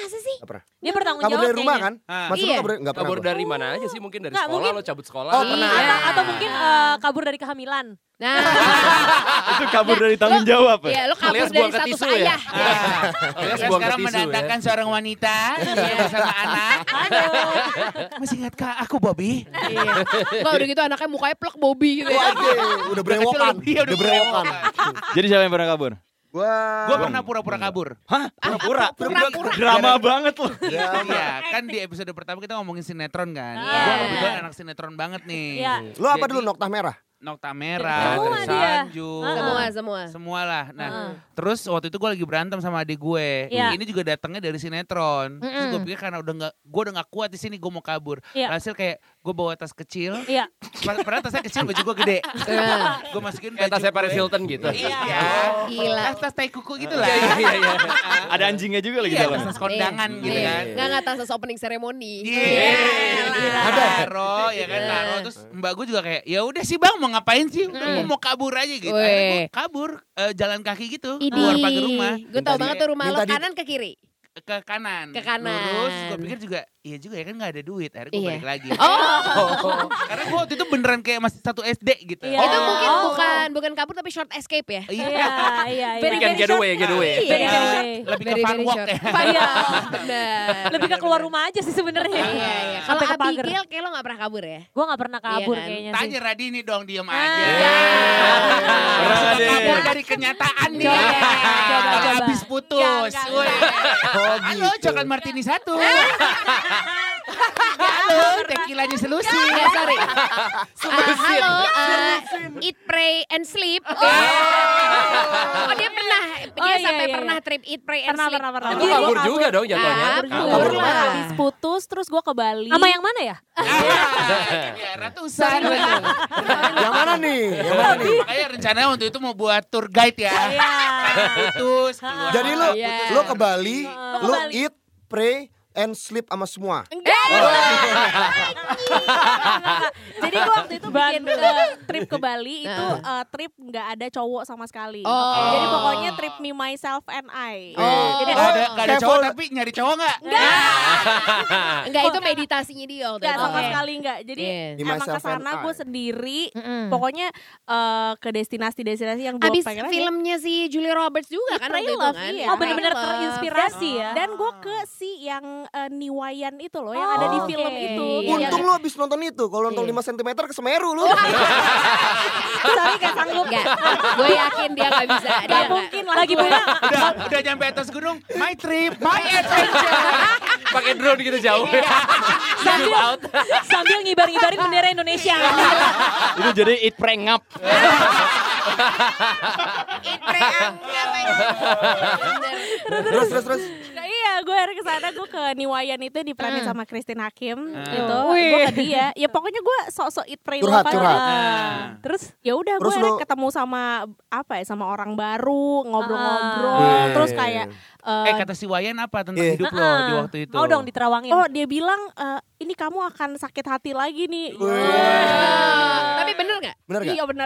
B: Masa sih?
F: Gak pernah.
E: Dia bertanggung
F: Kabur
E: jawab
F: dari rumah
E: kayaknya.
F: kan? Maksud lu
B: Iya.
F: kabur nggak pernah?
C: Kabur
F: gua.
C: dari mana aja sih? Mungkin dari
E: Nggak,
C: sekolah,
E: mungkin-
C: lo cabut sekolah.
F: Oh, pernah.
E: Atau mungkin kabur dari kehamilan.
B: Nah,
G: Itu kabur dari tanggung jawab ya?
B: iya lo kabur
C: Alias
B: dari
C: buang ke
B: status
C: tisu ya?
B: ayah.
C: Alias
D: Saya
C: buang ke
D: sekarang
C: tisu ya.
D: mendatangkan seorang wanita bersama anak. Masih ingat kak aku Bobby?
B: Iya. Enggak udah gitu anaknya mukanya plek Bobby gitu ya.
F: Udah berewokan.
D: Iya, udah
F: Udah berewokan.
G: Jadi siapa yang pernah kabur?
D: Gue pernah pura-pura kabur.
G: Hah? Pura-pura?
B: Pura-pura.
G: Drama banget loh.
D: Iya, kan di episode pertama kita ngomongin sinetron kan. Gue kebetulan anak sinetron banget nih.
E: Iya.
F: Lu apa
D: Jadi,
F: dulu Nokta Merah?
D: Nokta Merah,
E: Semua dia.
D: Sanjung,
B: Semua.
D: semua lah. Nah, terus waktu itu gue lagi berantem sama adik gue.
E: Iya.
D: Ini juga datangnya dari sinetron. Terus gue pikir karena gue udah nggak kuat di sini, gue mau kabur.
E: Iya.
D: Hasil kayak gue bawa tas kecil.
E: Iya.
D: Padahal tasnya kecil, baju gue gede. Gue masukin baju
C: Kayak tasnya Paris
D: gue.
C: Hilton gitu.
D: Iya.
B: Gila.
D: Tas tai kuku gitu lah.
C: Iya.
G: Ada anjingnya juga lagi
D: Iya,
G: dalam.
D: tas kondangan gitu kan.
B: Enggak tas opening ceremony.
D: Ada taro ya kan taro terus mbak gue juga kayak ya udah sih bang mau ngapain sih gue mau kabur aja gitu. Akhirnya gue kabur jalan kaki gitu keluar pagar rumah
B: Gue tau banget tuh rumah lo kanan ke kiri.
D: ke kanan.
B: Ke kanan.
D: Lurus gue pikir juga iya juga ya kan gak ada duit. Akhirnya gue
B: Iya.
D: balik lagi.
B: Oh.
D: Karena gue waktu itu beneran kayak masih 1 SD gitu.
E: Iya.
B: Itu mungkin bukan kabur tapi short escape ya.
E: Iya.
B: Very,
C: Weekend
B: very short.
C: getaway.
B: Iya.
D: Lebih ke
B: Very,
D: fun
B: very
D: walk
B: short.
D: ya.
B: Iya. Benar.
E: Lebih ke keluar rumah aja sih sebenarnya.
B: Iya. Kalau
E: Sampai ke pagar.
B: Abigail kayak lo gak pernah kabur ya?
E: Gue gak pernah kabur
B: Iya kan?
E: kayaknya sih.
D: Tanya Radini dong diem aja.
G: Pernah deh.
D: Kabur dari kenyataan nih.
E: Coba.
D: Habis putus.
E: Enggak.
D: Woi. Halo, coklat martini 1. Halo, tekilanya selusin.
B: Ya, sorry. Halo, eat, pray, and sleep. Oh, dia pernah. Dia
E: iya,
B: sampai
E: iya.
B: pernah trip eat, pray, and
E: Pernah.
B: sleep.
C: Itu kabur juga dong jatuhnya.
B: Kabur
H: Gue
B: lah.
H: habis putus terus gue ke Bali.
E: Sama yang mana ya?
D: Ya, ratusan.
F: Yang mana nih? Yang mana nih?
D: Makanya rencananya waktu itu mau buat tour guide ya. Putus. keluar.
F: Jadi lu
B: Iya.
F: lu ke Bali, lu
E: Bali.
F: eat, pray, and sleep sama semua.
H: Jadi gue waktu itu bikin trip ke Bali itu trip nggak ada cowok sama sekali.
B: Oh.
H: Jadi pokoknya trip me myself and I.
B: Oh.
H: Jadi
D: Gak ada
F: Kayak
D: cowok
F: full-
D: tapi nyari cowok gak?
B: Enggak, itu meditasinya dia waktu
H: Nggak
B: itu.
H: sama
B: Oke.
H: sekali nggak. Jadi
B: Iya.
F: Di
H: emang
F: myself
H: kesana
F: and
H: gue
F: I.
H: sendiri. Pokoknya ke destinasi-destinasi yang gue
B: Abis
H: pengen aja.
B: filmnya si Julia Roberts juga kan waktu itu
H: Love,
B: kan.
H: iya.
E: Oh benar-benar
B: Love.
E: terinspirasi ya.
H: Dan gue ke si yang Niwayan itu loh, yang ada di
E: oke.
H: film itu.
B: Iya.
F: Untung lu abis nonton itu. Kalau nonton 5 cm ke Semeru lu.
H: Sorry gak sanggup.
B: Enggak, gue yakin dia gak bisa. Dia
H: Gak
B: nggak.
H: mungkin lah.
E: Lagi pula
D: Udah nyampe atas gunung, my trip, my adventure.
C: Pakai drone gitu jauh.
E: sambil ngibar-ngibarin bendera Indonesia.
G: Itu jadi eat pray ngap.
B: Eat, pray, anggap aja. Bener.
F: Terus.
H: Nah, iya, gue hari kesana gue ke Niwayan itu diperanin sama Christine Hakim gitu.
E: Wih.
H: Gue ke dia. Ya pokoknya gue sok-sok eat pray
F: Curhat,
H: love aja.
F: curhat.
H: Terus ya udah gue
F: Terus
H: akhirnya
F: lu-
H: ketemu sama apa ya, sama orang baru, ngobrol-ngobrol.
F: Iya.
H: Terus kayak
D: Kata si Wayan apa tentang
F: Iya.
D: hidup lo di waktu itu?
E: Mau dong diterawangin.
H: oh dia bilang ini kamu akan sakit hati lagi nih.
B: Tapi bener gak?
F: Bener gak?
H: Iya bener.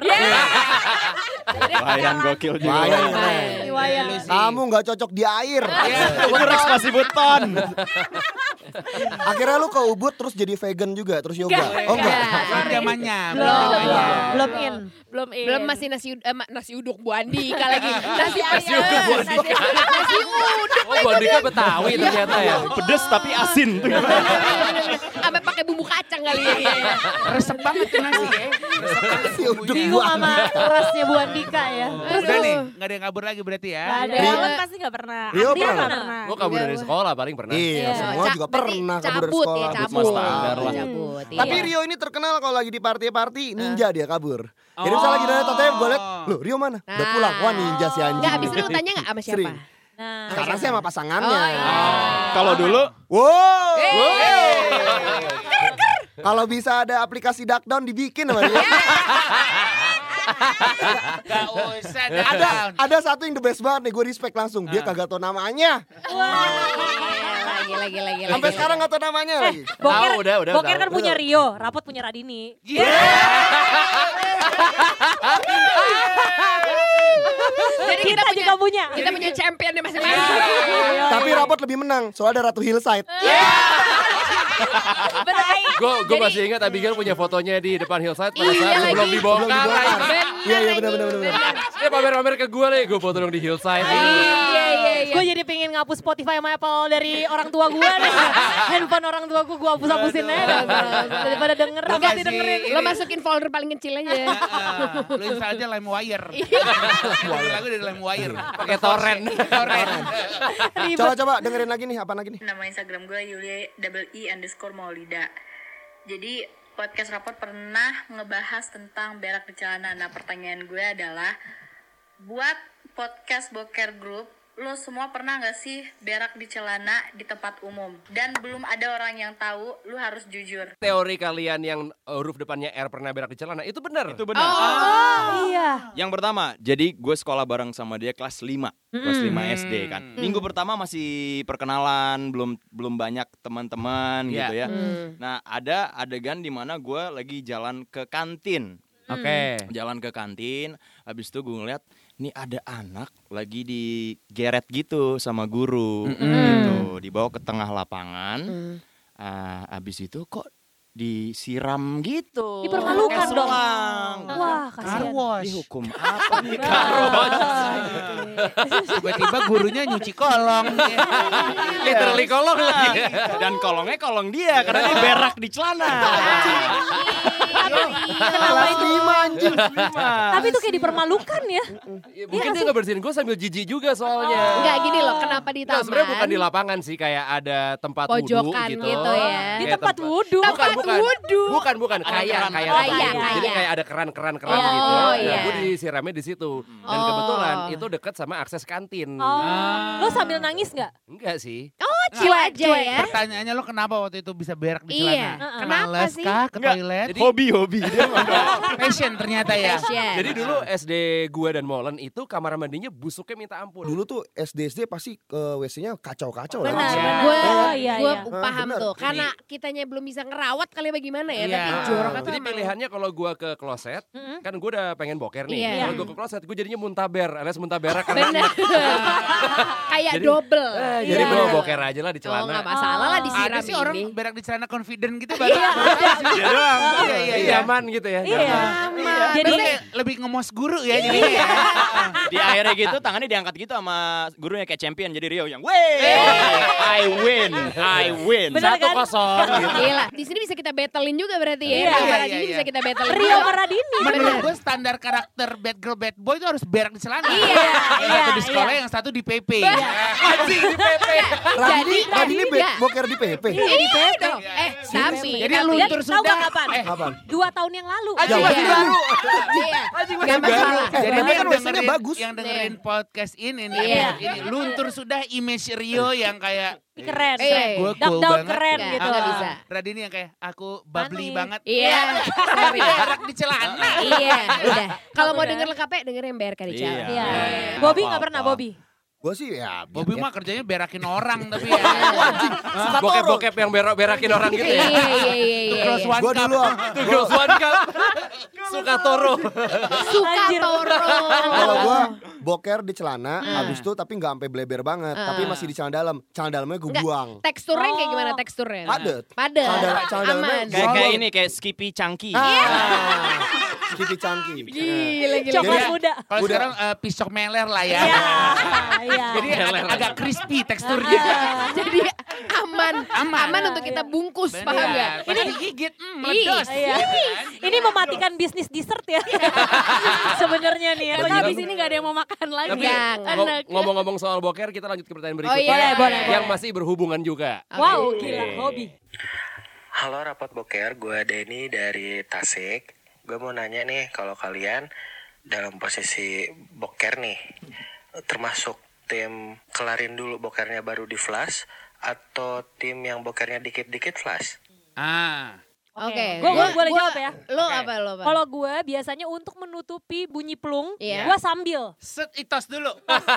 G: Wayan gokil juga.
F: Wayan keren.
H: Niwayan.
D: Lu sih.
F: Kamu nggak cocok di air.
G: Itu Rex masih buton.
F: Akhirnya lu ke Ubud terus jadi vegan juga, terus yoga. Oh enggak.
D: Belum zamannya.
E: Belum in.
B: Belum masih nasi uduk Bu Andika lagi. Nasi
C: uduk Bu Andika.
B: Nasi uduk.
C: Oh, Bu Andika Betawi ternyata ya.
G: Pedes tapi asin.
B: Sampai pakai bumbu kacang kali ya.
D: Resep banget tuh nasi ya. Resep banget
F: Si uduk
D: bumbunya.
E: Bingung sama rasnya Bu Andika ya.
D: Terus udah nih, gak ada yang kabur lagi berarti ya.
E: Gak ada.
H: Rian pasti gak pernah.
F: Rio
H: Dia
F: pernah.
H: nggak pernah.
C: Gue kabur dari sekolah paling pernah.
F: Iya, semua juga pernah kabur dari
B: Cabut
F: sekolah.
B: ya,
C: Cabut
B: cabut.
C: mas standar lah.
B: Cabut.
F: Tapi
B: iya.
F: Rio ini terkenal kalau lagi di party ninja dia kabur. Jadi misalnya lagi dari TTM gue liat, loh Rio mana? Udah
B: Nah.
F: pulang. Wah ninja si anjing.
B: Enggak, abis itu lu tanya gak sama siapa?
F: Sering.
E: Nah,
F: Sekarang sih sama pasangannya.
B: Oh, iya.
G: Kalau dulu
F: Wow.
B: Hey.
F: Kalau bisa ada aplikasi Duckdown dibikin sama dia.
D: Gak usah
F: ada
D: down.
F: ada satu yang the best banget nih, gue respect langsung. Dia kagak tau namanya.
B: Gila.
F: Sampai sekarang nggak tahu namanya lagi.
E: Boker,
C: udah,
E: Boker
C: tahu.
E: kan punya Rio, Rapot punya Radini.
B: Jadi
E: Kita juga punya.
B: Kita punya champion di masing-masing.
F: Tapi Rapot lebih menang, soalnya ada Ratu Hillside.
C: Gue masih ingat Abigail punya fotonya di depan Hillside pada
B: Iya
C: saat sebelum
B: lagi.
C: dibongkar.
F: Iya benar.
C: Dia pamer-pamer ke gue nih, gue foto dong di Hillside.
B: Iya.
E: Gue jadi pengen ngapus Spotify sama Apple dari orang tua gue nih. Handphone orang tua gue hapus-hapusin aja. Daripada denger,
D: Gua
E: Rapot
D: kasih
E: dengerin.
B: Lo masukin folder paling kecil aja.
D: Lu install aja LimeWire. Lagu dari LimeWire.
C: Pakai torrent.
F: Coba dengerin lagi nih, apa lagi nih?
J: Nama Instagram gue Yulia_Maulida. Jadi podcast Rapot pernah ngebahas tentang berak di celana. Nah pertanyaan gue adalah, buat podcast Boker Group, lo semua pernah gak sih berak di celana di tempat umum? Dan belum ada orang yang tahu, lo harus jujur.
C: Teori kalian yang huruf depannya R pernah berak di celana, itu benar.
G: Itu benar.
E: Iya.
G: Yang pertama, jadi gue sekolah bareng sama dia kelas 5. Kelas 5 SD kan. Minggu pertama masih perkenalan, belum banyak teman-teman gitu ya. Nah, ada adegan di mana gue lagi jalan ke kantin.
C: Oke.
G: Jalan ke kantin, habis itu gue ngeliat nih ada anak lagi digeret gitu sama guru gitu, dibawa ke tengah lapangan. Habis itu kok disiram gitu.
E: Dipermalukan dong.
G: Selang.
E: Wah, kasihan.
G: Dihukum apa nih?
D: Tiba-tiba gurunya nyuci kolong.
C: Literally kolong lagi.
G: Dan kolongnya kolong dia karena dia berak di celana.
E: Kenapa itu?
F: Anjing.
E: Tapi itu kayak dipermalukan ya.
C: Mungkin dia ngebersihin gue sambil jijik juga soalnya.
B: Enggak gini loh, kenapa di
C: Nah,
B: taman?
C: sebenarnya bukan di lapangan sih, kayak ada tempat wudhu
B: Pojokan
C: gitu.
B: gitu ya.
E: Di
C: Kayak
E: tempat wudhu.
C: Bukan, kayak
B: Kayak.
C: Jadi kayak ada keran-keran
B: Oh,
C: gitu.
B: iya.
C: Nah, gue disiramnya di situ. Dan
B: Oh.
C: kebetulan itu dekat sama akses kantin.
E: Lo sambil nangis nggak?
C: Enggak sih.
B: Oh, chill aja ya.
D: Pertanyaannya lo kenapa waktu itu bisa berak di
B: Iya.
D: celana?
B: Kenapa
D: Males
B: sih?
D: kah ke toilet?
G: Hobi. Dia
D: Passion ternyata ya.
B: Fashion.
C: Jadi dulu SD gue dan Molen itu kamar mandinya busuknya minta ampun.
F: Dulu tuh SD pasti WC-nya kacau-kacau
B: Benar,
F: lah.
B: benar. Gue
E: iya,
B: gue
E: iya.
B: paham
F: Benar.
B: tuh. Karena kitanya belum bisa ngerawat kali bagaimana ya.
D: Iya.
B: Tapi jorok itu
C: Jadi
B: emang-
C: pilihannya kalau gue ke kloset, kan gue udah pengen boker nih.
B: Iya.
C: Kalau gue ke kloset, gue jadinya muntaber, alias muntaberak.
B: Bener. Kayak
C: Jadi-
B: double.
C: Jadi
E: Iya.
C: gue boker aja lah di
B: Oh nggak
C: celana.
B: masalah lah disiram
D: Ada sih orang
B: ini.
D: berak di celana confident gitu baru.
C: Iya doang.
D: Iya.
C: Aman gitu ya.
E: Iya.
D: Jadi
E: Jadi
D: kayak lebih ngemos guru ya jadinya ya.
G: di akhirnya gitu tangannya diangkat gitu sama gurunya kayak champion, jadi Rio yang wey, I win.
E: Bener kan?
C: 1-0 gitu.
B: Gila, di sini bisa kita battlein juga berarti ya.
E: Iya.
B: Rio
D: Iya,
B: Maradini
D: iya,
B: bisa
D: iya.
B: kita battlein.
E: Rio sama Radini.
D: Menurut gue standar karakter bad girl bad boy itu harus berak di celana.
E: Iya,
D: Yang satu di
E: iya,
D: sekolah,
E: iya.
D: yang satu di PP.
C: Anjing di PP.
F: Radini
B: enggak.
F: boker di PP.
B: Iya dong.
D: Jadi
B: Tapi
D: luntur
E: Tahu
D: sudah.
E: nggak kapan?
F: Kapan?
E: 2 tahun yang lalu.
F: Ya, masih baru.
B: Iya. Nggak masalah.
D: Jadi
F: Tapi
D: ini
F: kan WC-nya bagus.
D: yang dengerin podcast ini nih,
B: Iya.
D: ini luntur sudah image Rio yang kayak
E: Keren.
B: Iya.
D: gue
E: Dark
D: cool
E: down
D: banget.
E: keren
B: Nggak,
E: gitu.
B: nggak bisa.
D: Radini yang kayak aku bubbly
E: Manis.
D: banget.
B: Iya. Sorry.
D: Berak di celana.
B: Iya, udah. Kalau mau
E: Udah.
B: denger lengkapnya dengerin BRK di Celana.
E: Iya.
G: Iya.
E: Bobby
G: Nggak
E: nggak pernah
G: apa-apa.
E: Bobby.
F: Gue sih ya.
D: Bobby mah kerjanya berakin orang tapi ya.
C: Bokep-bokep yang berakin orang gitu ya.
B: Iya.
D: Cross one
F: Gue
D: cup.
F: dulu
C: Tuh Girls One Cup. Suka Toro.
B: Suka
E: Anjir.
B: Toro.
F: kalau gue boker di celana, habis itu tapi nggak sampai bleber banget, tapi masih di celana dalam. Celana dalamnya gue
B: Enggak.
F: buang.
B: Teksturnya kayak gimana teksturnya?
F: Padet.
B: Padet.
F: Celana dalamnya
B: Aman.
G: Kayak ini kayak Skippy Chunky.
F: Skippy Chunky.
B: Gila.
E: Coklat
F: Jadi-
E: muda.
D: Kalau sekarang pisok meler lah ya.
E: Iya.
D: Jadi agak crispy teksturnya.
B: Jadi aman.
D: Aman.
B: Aman untuk kita bungkus, paham
D: Bener.
B: gak?
D: Pas digigit, meledos.
E: Iya. Ini mematikan bisnis dessert ya. Sebenarnya nih ya.
H: Karena habis ini gak ada yang mau makan lagi.
C: Tapi
B: Jangan.
C: ngomong-ngomong soal boker, kita lanjut ke pertanyaan
B: Oh
C: berikutnya.
B: iya, boleh.
C: Yang masih berhubungan juga.
E: Wow, gila hobi.
K: Halo Rapot Boker, gue Denny dari Tasik. Gue mau nanya nih, kalau kalian dalam posisi boker nih, termasuk tim kelarin dulu bokernya baru di flash, atau tim yang bokernya dikit-dikit flash?
B: Oke.
E: Gue boleh jawab ya.
B: Lo apa?
E: Kalau gue biasanya untuk menutupi bunyi plung,
B: Iya.
E: gue sambil.
D: Set itos dulu.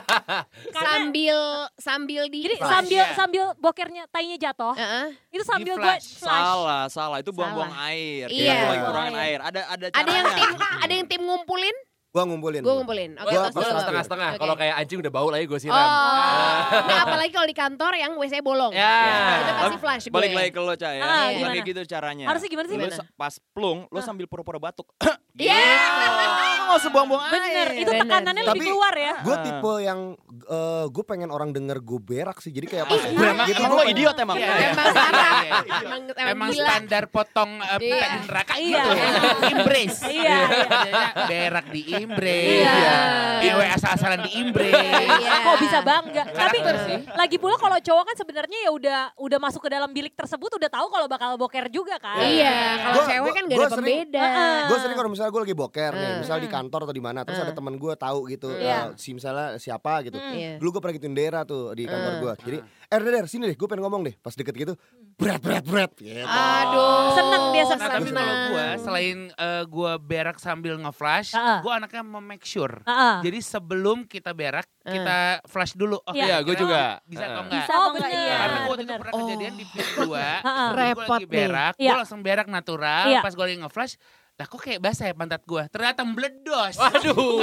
B: Sambil di
E: Jadi
D: Flash,
E: sambil bokernya tainya jatuh, itu sambil gue
D: flash.
E: flash.
G: Salah. Itu buang-buang air.
B: Iya.
G: Itu lagi
E: Buang
G: kurangin
E: air.
G: air. Ada
B: Ada yang tim ngumpulin?
F: Gua ngumpulin.
B: Gue ngumpulin. Oke,
F: Gua
B: terus dulu.
C: setengah-setengah.
B: Oke.
C: Kalau kayak anjing udah bau lah ya gue siram.
B: Nah, apalagi kalau di kantor yang WC bolong.
C: Ya.
B: Itu pasti flash gue.
G: Balik lagi ke lo, Ca ya.
E: Gimana?
G: Kayak gitu caranya.
E: Harusnya gimana sih?
G: Lo
B: Gimana?
G: pas plung, lo sambil pura-pura batuk.
B: Iya.
G: Nggak usah buang-buang air.
E: Bener, itu
B: Bener
E: tekanannya
B: sih.
E: lebih
F: Tapi-
E: keluar ya.
F: Gue tipe yang gue pengen orang denger gue berak sih. Jadi kayak pas
B: Iya.
F: berak gitu
G: Emang
F: gua
G: lo
F: pengen-
G: idiot emang.
D: Iya.
B: Emang parah.
D: Emang
B: gila.
D: standar potong pita
B: Iya.
D: di neraka
E: Iya.
D: gitu. Embrace.
E: Iya.
D: Jadinya berak di embrace.
E: Iya.
D: Ewe asal-asalan di embrace.
B: Iya.
E: Kok bisa bangga? Tapi
D: Karakter sih.
E: lagi pula kalau cowok kan sebenarnya ya udah masuk ke dalam bilik tersebut udah tahu kalau bakal boker juga kan.
B: Iya, kalau
F: Gua-
B: cewek
F: gua-
B: kan gak
F: gua
B: ada
F: sering-
B: pembeda.
F: Gue sering kalau misalnya gue lagi boker nih, misal di kantor atau di mana, terus ada teman gue tahu gitu,
E: Iya.
F: si misalnya siapa gitu.
B: Iya.
F: Dulu gue pernah gituin Dera tuh di kantor gue. Jadi, Der, sini deh, gue pengen ngomong deh. Pas deket gitu, berat. Gitu.
B: Aduh.
E: Seneng dia,
D: Nah, tapi
E: seneng.
D: kalau gue selain gue berak sambil nge-flash, gue anaknya make sure. Jadi sebelum kita berak, kita flash dulu. Oh,
E: Iya.
C: Iya, gue
D: kira-kira
C: juga.
D: Bisa atau enggak?
E: Bisa atau enggak?
B: bener.
D: Karena gue waktu itu
E: Bener.
D: pernah kejadian di pit 2,
B: Repot
D: gue lagi berak,
E: nih. Iya.
D: gue langsung berak natural,
E: Iya.
D: pas gue lagi nge-flash, lah kok kayak basah ya pantat gue, ternyata meledos.
C: Waduh.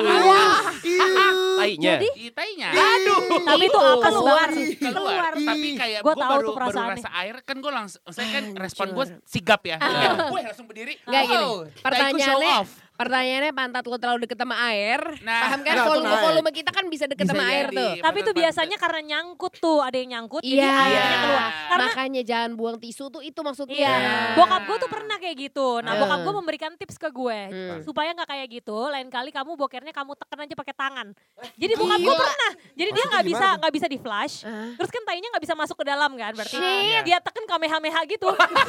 C: Tainya.
D: Tainya.
E: Tapi itu apa
B: Keluar.
D: Keluar. Tapi kayak
E: Gua
D: gue
E: tahu
D: baru
E: tuh perasaannya.
D: rasa air, kan gue langsung, saya kan respon gue sigap ya. Gue langsung berdiri.
B: Enggak gini.
D: wow, taiku show off.
B: Pertanyaannya pantat lo terlalu deket sama air.
D: Nah,
B: Paham kan
F: nah, itu
B: volume kita kan bisa deket
D: Bisa
B: sama air
D: jadi.
B: tuh.
E: Tapi itu
D: Pantat-
E: biasanya karena nyangkut tuh, ada yang nyangkut jadi
B: Iya.
E: airnya keluar. Karena
B: Makanya jangan buang tisu tuh itu maksudnya.
E: iya, bokap gue tuh pernah kayak gitu. Nah, bokap
B: Hmm.
E: gue memberikan tips ke gue
B: Hmm.
E: supaya nggak kayak gitu. Lain kali kamu bokernya kamu tekan aja pakai tangan. Jadi bokap gue pernah. Jadi dia
F: Maksudnya
E: nggak bisa di flash. Terus kan tainya nggak bisa masuk ke dalam kan? Berarti
B: Shit.
E: dia tekan kamehameha gitu.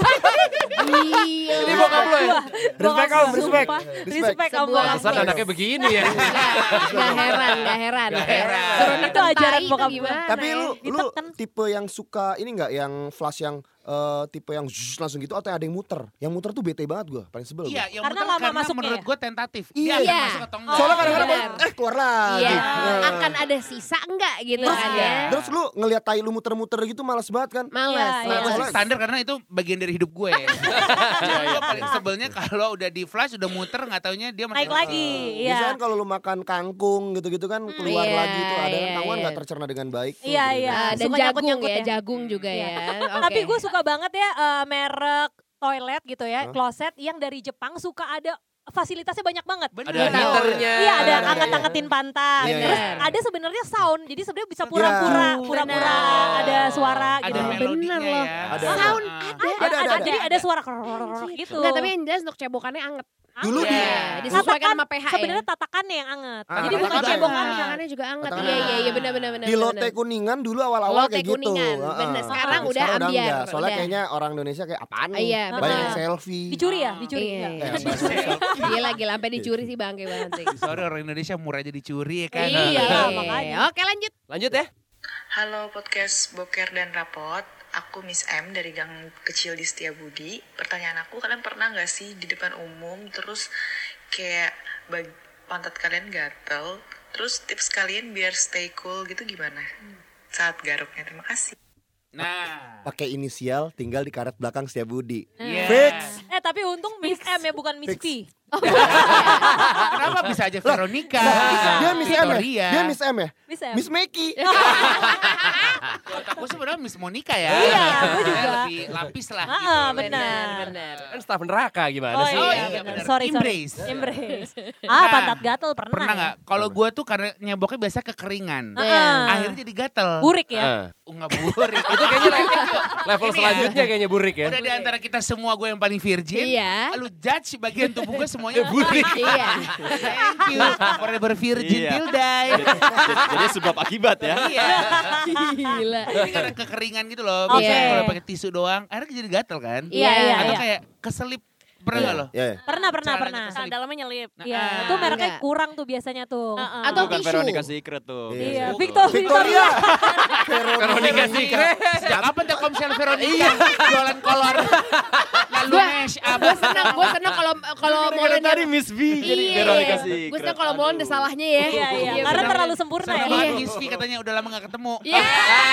B: Gila.
C: Ini bokap lo ya?
F: Respect, Om, respect.
E: Sumpah,
F: Respect.
E: respect om
B: Sebuah
E: bokap.
C: Pantesan anaknya begini ya.
B: Gak heran.
D: Gak heran.
B: Suruh
E: Itu
B: neken
E: ajaran
B: tai
E: bokap
B: tuh
E: gue.
B: gimana
F: Tapi
B: ya?
F: lu
E: Ditekan.
F: tipe yang suka ini nggak, yang flash yang tipe yang zzz langsung gitu, atau ada yang muter? Yang muter tuh bete banget gue, paling sebel.
D: Iya,
F: gua.
D: yang
E: Karena
D: muter
E: lama
D: karena
E: masuknya
D: menurut
E: ya?
D: gue tentatif.
F: Iya.
D: Dia akan masuk atau enggak.
F: Soalnya kadang-kadang
B: benar.
F: keluar lagi.
B: Iya.
F: Nah.
B: Akan ada sisa enggak gitu
F: Terus,
B: kan ya.
F: terus lu ngelihat tai lu muter-muter gitu males banget kan?
B: Males.
E: Iya,
D: Nah, gue sih
F: Soalnya-
D: standar karena itu bagian dari hidup gue. Gue paling sebelnya kalau udah di flash, udah muter, nggak taunya dia masih
E: Naik lagi.
F: Biasanya
E: Iya.
F: kan kalau lu makan kangkung gitu-gitu kan keluar
B: Iya,
F: lagi tuh, ada
B: iya,
F: kan kangkungan
B: iya.
F: nggak tercerna dengan baik. tuh,
E: Iya,
F: gitu.
E: iya.
B: Ah, dan
E: Suka
B: jagung
E: nyangkut-nyangkut
B: ya,
E: ya.
B: jagung juga
E: Iya.
B: ya.
E: Tapi
B: Oke.
E: gue suka banget ya merek toilet gitu ya, kloset yang dari Jepang suka ada fasilitasnya banyak banget.
D: Bener.
C: Ada heaternya.
E: Iya, ada
F: Ada,
E: angkat-angkatin pantat.
F: Iya,
E: Terus
B: iya.
E: ada sebenarnya sound. Jadi sebenarnya bisa pura-pura ada suara
D: Ada
E: gitu.
D: melodinya
B: Bener loh.
D: ya.
F: Ada.
B: Sound
F: Ada.
E: Jadi ada suara gitu.
B: Enggak, tapi yang jelas untuk cebokannya anget.
F: Dulu
D: Iya.
F: di
B: Disesuaikan sama pH ya.
E: Sebenarnya tatakannya yang anget.
F: Ah,
E: Jadi
F: tatakan
E: bukan
F: juga
E: cebokan.
F: anget.
B: Tangannya juga anget.
F: Tangan
B: Iya,
F: anget.
B: iya, benar.
F: Di Lotte Kuningan dulu awal-awal
B: Lotte
F: kayak gitu.
B: Kuningan,
F: Heeh.
B: bener. Sekarang udah
F: Sekarang
B: ambiar,
F: enggak. Soalnya
B: udah.
F: kayaknya orang Indonesia kayak apaan nih?
B: Iya,
F: Banyak
B: betul.
F: yang selfie.
E: Dicuri ya? Dicuri.
B: Iya,
E: Enggak.
B: iya. Gila, sampai dicuri sih bangke banget sih.
D: Sorry, orang Indonesia murah aja dicuri ya kan.
E: Iya,
B: Oke.
E: makanya.
B: Oke, lanjut.
C: Lanjut ya.
J: Halo podcast Boker dan Rapot, aku Miss M dari Gang Kecil di Setiabudi. Pertanyaan aku, kalian pernah gak sih di depan umum terus kayak pantat kalian gatel, terus tips kalian biar stay cool gitu gimana saat garuknya? Terima kasih.
D: Nah.
F: Pakai inisial, tinggal di karet belakang Setiabudi.
D: Iya.
F: Fix.
E: Tapi untung Miss M ya, bukan Miss P.
D: Kenapa bisa aja Veronica?
F: Dia Miss M ya?
D: Victoria.
F: Dia Miss M ya?
E: Miss M.
F: Miss Meki.
D: Aku sebenarnya Miss Monica ya.
E: Iya, aku juga.
D: Lebih lapis lah gitu.
E: Ah, benar.
C: Kan staf neraka gimana
E: Oh
C: sih?
E: iya,
D: iya,
E: benar.
D: benar.
E: Sorry.
D: Embrace.
E: Embrace.
D: Nah,
E: Pantat gatel pernah.
D: Pernah
E: ya?
D: nggak? Kalau gue tuh karena nyeboknya biasa kekeringan. Akhirnya jadi gatel.
E: Burik ya?
D: Nggak burik.
C: Itu kayaknya level
D: Ini
C: selanjutnya kayaknya burik ya.
D: Udah di antara kita semua gue yang paling virgin.
B: Iya.
D: Lu judge bagian tubuh gue semuanya burik.
B: Iya.
D: Thank you. Forever virgin
G: Iya.
D: till die.
G: Jadi sebab akibat ya.
D: Iya.
B: Gila.
D: Jadi karena kekeringan gitu loh.
E: Oke.
D: Biasanya kalau pakai tisu doang, akhirnya jadi gatel kan.
E: Iya, iya,
D: Atau
E: iya.
D: kayak keselip. Pernah nggak lo?
F: Iya.
E: Pernah.
D: Celananya keselip.
H: Dalamnya nyelip.
E: Iya, itu mereknya
B: Enggak.
E: kurang tuh biasanya tuh.
B: Atau
G: Bukan
B: tisu.
G: Veronica Secret tuh.
E: Iya,
F: Victoria.
E: Victoria.
C: Veronica Secret.
D: Sejak kapan Telkomsel Veronica jualan kolor? Lalu
B: Gua-
D: mash up.
B: Gue senang kalau Molen
G: tadi Miss B jadi biar dikasih.
B: Gue senang kalau Molen ada salahnya ya.
E: Iya. Karena terlalu sempurna ya.
D: Senang banget Gisvi katanya udah lama gak ketemu.
B: Iya.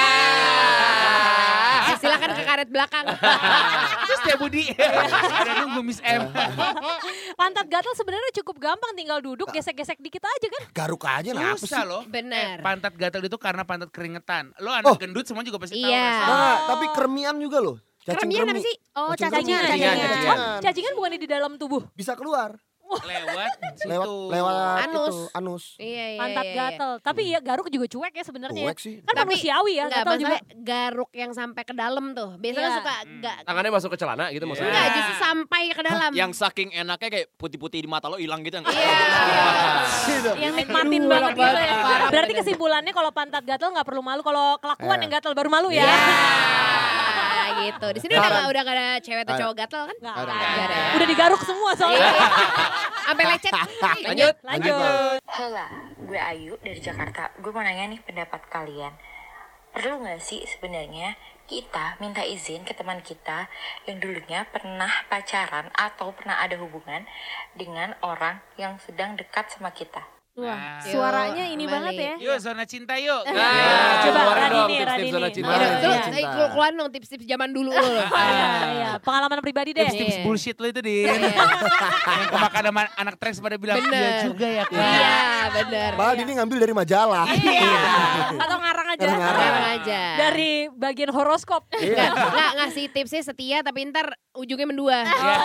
B: Silakan ke karet belakang.
D: Terus dia Budi. Ada nunggu Miss M.
E: Pantat gatal sebenarnya cukup gampang, tinggal duduk gesek-gesek dikit aja kan.
F: Garuk aja lah apa sih?
D: Susah loh.
B: Benar.
D: Pantat gatal itu karena pantat keringetan. Lo anak gendut semua juga pasti tahu.
B: Iya.
D: rasanya.
F: Tapi kremian juga loh. Cacing
B: Keremian apa
F: kremi.
B: sih?
E: Oh,
F: Cacingan.
E: cacingan. Cacingan bukan di dalam tubuh.
F: Bisa keluar.
D: Lewat situ.
F: Lewat
B: Anus.
F: itu, anus.
B: Iya.
E: Pantat gatal. Tapi ya garuk juga cuek ya sebenarnya.
F: Cuek sih.
E: Kan manusiawi ya,
B: Enggak
E: gatal juga.
B: masalah garuk yang sampai ke dalam tuh. Biasanya
E: Iya.
B: suka enggak.
C: Tangannya masuk ke celana gitu maksudnya.
B: Enggak, justru sampai ke dalam.
G: Yang saking enaknya kayak putih-putih di mata lo hilang gitu.
B: Iya.
E: Yang nikmatin
B: Aduh,
E: banget gitu ya.
B: parah
E: Berarti
B: bener.
E: kesimpulannya kalau pantat gatal nggak perlu malu, kalau kelakuan yang gatal baru malu ya.
B: Gitu. Di sini udah gak ada cewek atau cowok gatal kan?
E: Nggak
F: Ada.
E: ada. Udah digaruk semua soalnya.
B: Sampai lecet.
E: Lanjut.
L: Hola, gue Ayu dari Jakarta. Gue mau nanya nih pendapat kalian. Perlu gak sih sebenarnya kita minta izin ke teman kita yang dulunya pernah pacaran atau pernah ada hubungan dengan orang yang sedang dekat sama kita?
H: Wah,
B: Yuk,
H: suaranya ini
B: kembali.
H: banget ya.
D: Yuk zona cinta yuk.
E: Coba
C: keluarin dong
E: Radini,
C: tips-tips zona
E: Radini.
C: cinta.
B: Iya,
F: Iya,
B: tuh,
F: cinta.
B: keluarin dong tips-tips zaman dulu lo.
E: Iya, pengalaman pribadi deh.
D: Tips
B: Iya.
D: bullshit lo itu Din. Yang kemakan sama anak treks pada bilang
B: Bener.
D: iya juga ya Kak.
B: Iya, benar.
F: Padahal ini ngambil dari majalah.
E: Atau ngarang aja.
B: Sekarang aja.
E: Dari bagian horoskop.
B: Nggak ngasih tipsnya setia tapi ntar ujungnya mendua.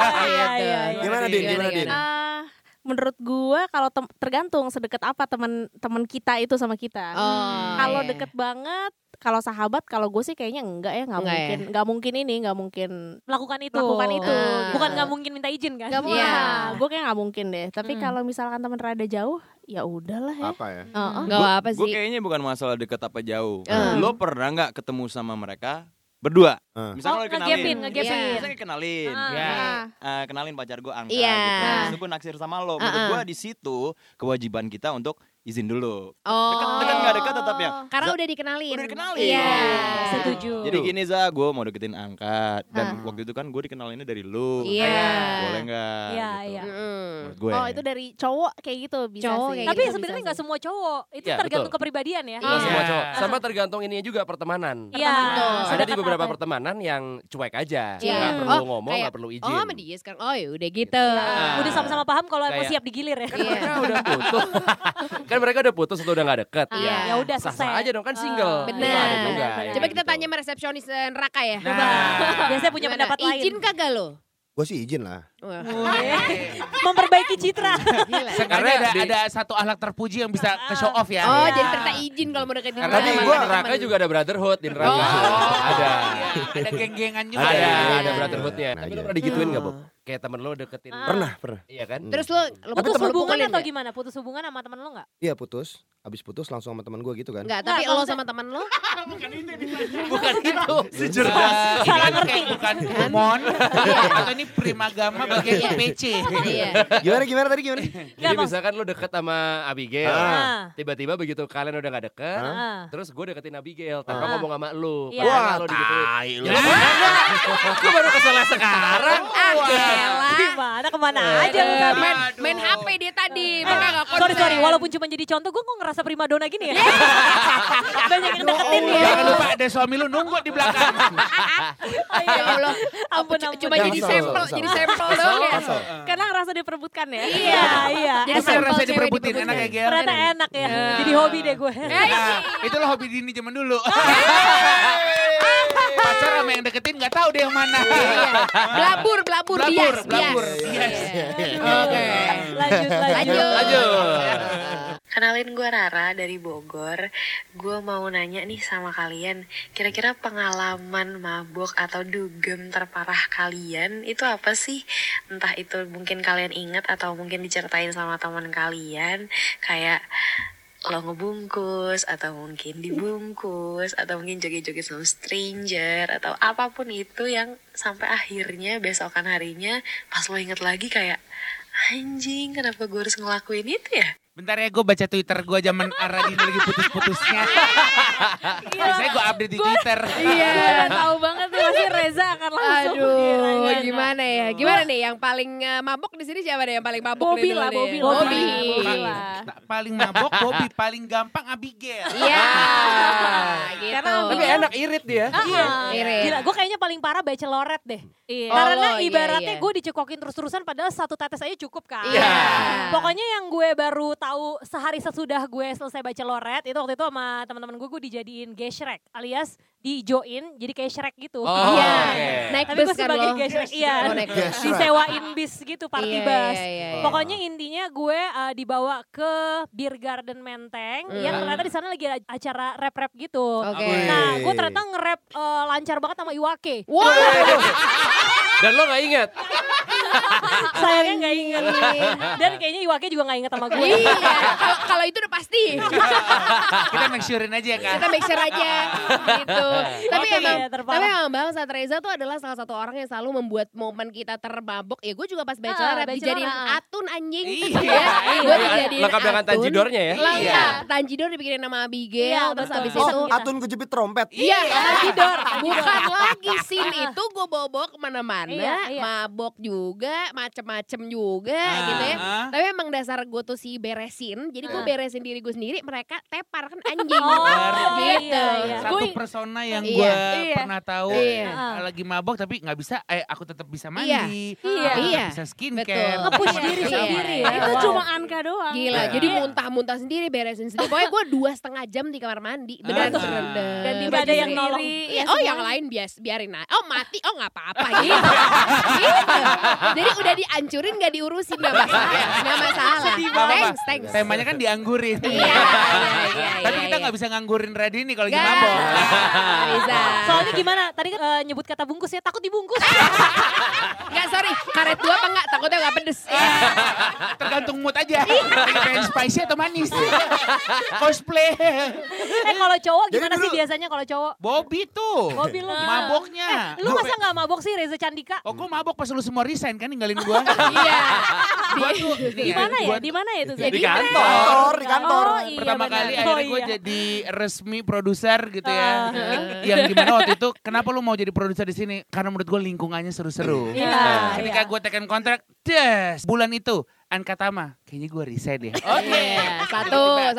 E: iya.
F: Gimana Din? Gimana Din?
H: Menurut gua kalau tergantung sedekat apa teman kita itu sama kita. Kalau
B: iya.
H: deket banget, kalau sahabat, kalau gue sih kayaknya enggak ya,
B: Enggak ya?
H: nggak mungkin
E: Melakukan itu.
H: Melakukan itu.
E: Bukan nggak mungkin minta izin kan?
H: Nggak mungkin.
B: Iya.
H: Gue kayak nggak mungkin deh. Tapi kalau misalkan teman rada jauh, ya udahlah ya.
F: Apa ya?
B: Nggak apa
G: Gue
B: sih.
G: kayaknya bukan masalah deket apa jauh. Lo pernah nggak ketemu sama mereka berdua? Misalnya lo
E: ngegapin.
G: Misalnya kenalin.
D: Ya.
G: Kenalin pacar gue Angka
B: Iya.
G: gitu. Terus gue naksir sama lo. Menurut gue di situ kewajiban kita untuk izin dulu. Dekat nggak dekat tetap ya.
B: Karena udah dikenalin.
G: Udah dikenalin.
B: Iya.
E: Setuju.
G: Jadi gini Za, gue mau deketin Angka. Dan waktu itu kan gue dikenalinnya dari lu.
B: Iya.
G: Boleh nggak?
E: Iya,
G: gitu.
E: iya.
G: Menurut gue.
H: Oh itu dari cowok kayak gitu bisa
B: Cowok
H: sih.
B: kayak
E: Tapi
B: gitu
E: sebenarnya
B: bisa
E: nggak semua cowok. Itu
C: Iya,
E: tergantung
C: betul.
E: kepribadian ya.
C: Nggak semua
B: Iya.
C: cowok. Sama tergantung ininya juga pertemanan.
E: Iya.
C: Ada di
E: Sedekat
C: beberapa
E: apa?
C: pertemanan yang cuek aja.
B: Iya.
C: Nggak perlu ngomong,
B: kayak,
C: nggak perlu izin.
B: Oh sama dia sekarang. Oh ya udah gitu.
E: Udah sama-sama paham kalau emang
C: Kayak-
E: siap digilir ya.
B: Iya.
C: Mereka udah putus. Kan mereka udah putus atau udah nggak deket.
B: Iya.
E: Ya udah
C: Sah-sah
E: selesai.
C: aja dong kan single.
B: Benar.
C: Itu ada juga.
E: Benar.
C: yang
B: Coba
C: kayak
B: kita
C: gitu.
B: tanya sama resepsionis neraka ya.
E: Biasanya punya
B: Gimana?
E: pendapat lain.
B: Izin kagak lo?
F: Gue sih izin lah.
B: Wah,
E: Memperbaiki citra.
B: gila.
D: Sekarang
C: Karena
D: ada satu akhlak terpuji yang bisa ke show off ya.
B: Oh, jadi ternyata izin kalau mau deketin
C: Karena di
F: gua-
C: neraka juga ada brotherhood di neraka. Ada.
D: Ada geng-gengan juga.
C: Ada,
D: ya.
C: ada brotherhoodnya. Tapi
F: aja.
C: lo pernah digituin nggak, Bob? Kayak temen lo deketin.
F: Pernah.
C: Iya kan?
B: Terus lo
E: Putus
B: lo
E: hubungan
B: pukulin
E: atau
B: nggak?
E: gimana? Putus hubungan sama temen lo nggak?
F: Iya putus. Abis putus langsung sama teman gue gitu kan.
B: Enggak, tapi
E: Nggak,
B: lo
E: maksudnya-
B: sama teman lo?
C: Bukan itu.
D: Salah ngerti bukan mon atau ini primagama bagian IPC.
B: Iya.
F: Gimana tadi gimana?
C: Jadi misalkan lo deket sama Abigail.
E: Ah.
C: Tiba-tiba begitu kalian udah gak deket.
E: Ah.
C: Terus gue deketin Abigail. Tanpa ngomong sama lo.
E: Iya.
C: Wah, lo digituin. Ya lo pernah nggak? Gue baru kesel sekarang.
E: Gimana kemana aja lu tadi?
B: Main HP dia tadi, makanya gak konsen.
E: Sorry, walaupun cuma jadi contoh, gue kok ngerasa primadona gini ya? Banyak yang deketin ya.
D: Jangan lupa ada suami lu nunggu di belakang.
B: Ya Allah,
E: Ampun,
B: cuma
F: Jangan
B: jadi
F: kesel,
B: sampel,
F: kesel.
B: jadi sampel doang ya.
H: Karena ngerasa diperebutkan ya.
E: Iya.
B: Jadi
D: Apa yang
B: sampel
D: rasa
B: cewek
D: diperebutin enak ya Gel?
E: Ternyata enak ya. Jadi hobi deh gue.
D: Nah, itu lo hobi Dini zaman dulu. Pacar sama yang deketin gak tahu deh yang mana.
B: Blabur, bias.
D: Yes.
B: Oke.
E: Lanjut.
J: Kenalin gue Rara dari Bogor. Gue mau nanya nih sama kalian, kira-kira pengalaman mabuk atau dugem terparah kalian itu apa sih? Entah itu mungkin kalian ingat atau mungkin diceritain sama teman kalian, kayak lo ngebungkus atau mungkin dibungkus atau mungkin joget-joget sama stranger atau apapun itu yang sampai akhirnya besokan harinya pas lo inget lagi kayak anjing kenapa gue harus ngelakuin itu ya?
D: Bentar ya gue baca Twitter gue zaman Aradini lagi putus-putusnya. Biasanya gue update di Twitter.
H: Iya, tahu banget tuh. pasti Reza akan langsung.
B: Aduh, gimana ya? Gimana nih yang paling mabok di sini siapa deh yang paling mabok?
H: Bobby
B: nih
H: lah,
B: dulu
H: Bobby
B: nih?
H: lah.
B: Bobby.
H: Bobby lah.
D: Paling mabok Bobby, paling gampang Abigail.
B: Iya. Gitu.
H: Karena
C: Tapi enak irit dia.
E: Iya.
B: Irit.
E: Gila, gue kayaknya paling parah bachelorette deh.
H: Iya.
E: Karena
B: Oh, iya,
E: ibaratnya
B: iya.
E: gue dicekokin terus-terusan padahal satu tetes aja cukup kan.
B: Iya.
E: Pokoknya yang gue baru tahu sehari sesudah gue selesai bachelorette itu waktu itu sama teman-teman gue dijadiin gay Shrek alias di-join jadi kayak Shrek gitu.
C: Oh,
B: Iya.
C: oke.
B: Naik
E: Tapi
B: bus
E: gue
B: kan
E: sebagai
B: lo.
E: gay Shrek, iya.
B: Oh, naik bus.
E: Disewain bis gitu, party
B: Iya,
E: bus.
B: iya, iya, iya.
E: Pokoknya intinya gue dibawa ke Beer Garden Menteng. Yang ternyata di sana lagi ada acara rap-rap gitu.
B: Oke.
E: Nah, gue ternyata nge-rap lancar banget sama Iwake.
B: Wow.
C: Dan lo gak ingat?
E: Sayangnya gak inget. Dan kayaknya Iwake juga gak inget sama gue.
B: Iya. Kalau itu udah pasti.
D: Kita make sure-in aja ya kan.
B: Kita make sure aja gitu. Tapi
E: Oke,
B: emang
E: iya, terparah.
B: tapi emang Bang Saat Reza tuh adalah salah satu orang yang selalu membuat momen kita termabok. Ya gue juga pas bachelorette dijadiin atun anjing.
D: Iya.
B: Gue dijadiin
C: Lengkap dengan
B: atun.
C: tanjidornya ya?
B: Lengkap. Tanjidor dibikinin nama Abigail.
E: Iya,
B: Terus
E: betul.
B: abis
E: Oh,
B: itu
F: Atun kejepit trompet.
B: iya, Tanjidor. Bukan lagi scene itu gue bawa kemana-mana.
E: Iya, iya.
B: Mabok juga, macem-macem juga gitu ya. Tapi emang dasar gue tuh si beresin. Jadi gue beresin diri gue sendiri. Mereka tepar kan anjing.
E: Oh,
B: gitu.
E: iya.
D: Satu
E: Gue-
D: persona yang
B: Iya.
D: gue
E: Iya.
D: pernah tahu
B: Iya.
D: lagi mabok tapi nggak bisa, aku tetap bisa mandi,
B: Iya.
D: aku
E: Iya.
D: tetap
B: Iya.
D: bisa skincare,
B: Betul.
E: Nge-push diri
B: Iya.
E: sendiri ya.
H: Itu
E: Wow.
H: cuma Anka doang.
B: Gila,
D: Iya.
B: jadi muntah-muntah sendiri, beresin sendiri. Pokoknya gue 2,5 jam di kamar mandi. Beneran
D: Ah.
B: berendam.
E: Dan tidak ada yang nolong.
B: Iya, oh yang lain biarin aja. Oh mati, oh gak apa-apa gitu. Gitu. Jadi udah dihancurin gak diurusin, gak masalah. Gak masalah. Thanks, thanks.
D: Temanya kan dianggurin.
B: Iya.
D: Tapi kita nggak bisa nganggurin Radini kalau lagi
B: Nggak.
D: mabok.
B: Bisa.
E: Soalnya gimana? Tadi kan nyebut kata bungkus ya, takut dibungkus.
B: Gak, sorry. Karet 2 apa enggak? Takutnya gak pedes.
D: Tergantung mood aja. Lagi pengen spicy atau manis. Cosplay.
E: Kalau cowok
F: Jadi
E: gimana sih
F: dulu-
E: biasanya kalau cowok?
D: Bobby tuh.
E: Bobby lu gimana?
D: Maboknya.
E: Lu masa gak mabok sih Reza Candika?
D: Oh, gue mabok pas lu semua resign kan ninggalin gua.
B: Iya.
D: Gua tuh
E: Di mana ya? Di mana ya itu? Zed?
C: Di kantor.
F: Di kantor.
E: Oh, iya,
D: Pertama
E: benar.
D: kali
E: Oh,
D: akhirnya gue
E: iya.
D: jadi resmi produser gitu ya. Yang dimana waktu itu kenapa lu mau jadi produser di sini? Karena menurut gue lingkungannya seru-seru.
E: Iya,
D: Ketika
E: iya.
D: gue tekan kontrak, des bulan itu Anka Tama, kayaknya gue resign deh. Oke,
B: Iya, satu.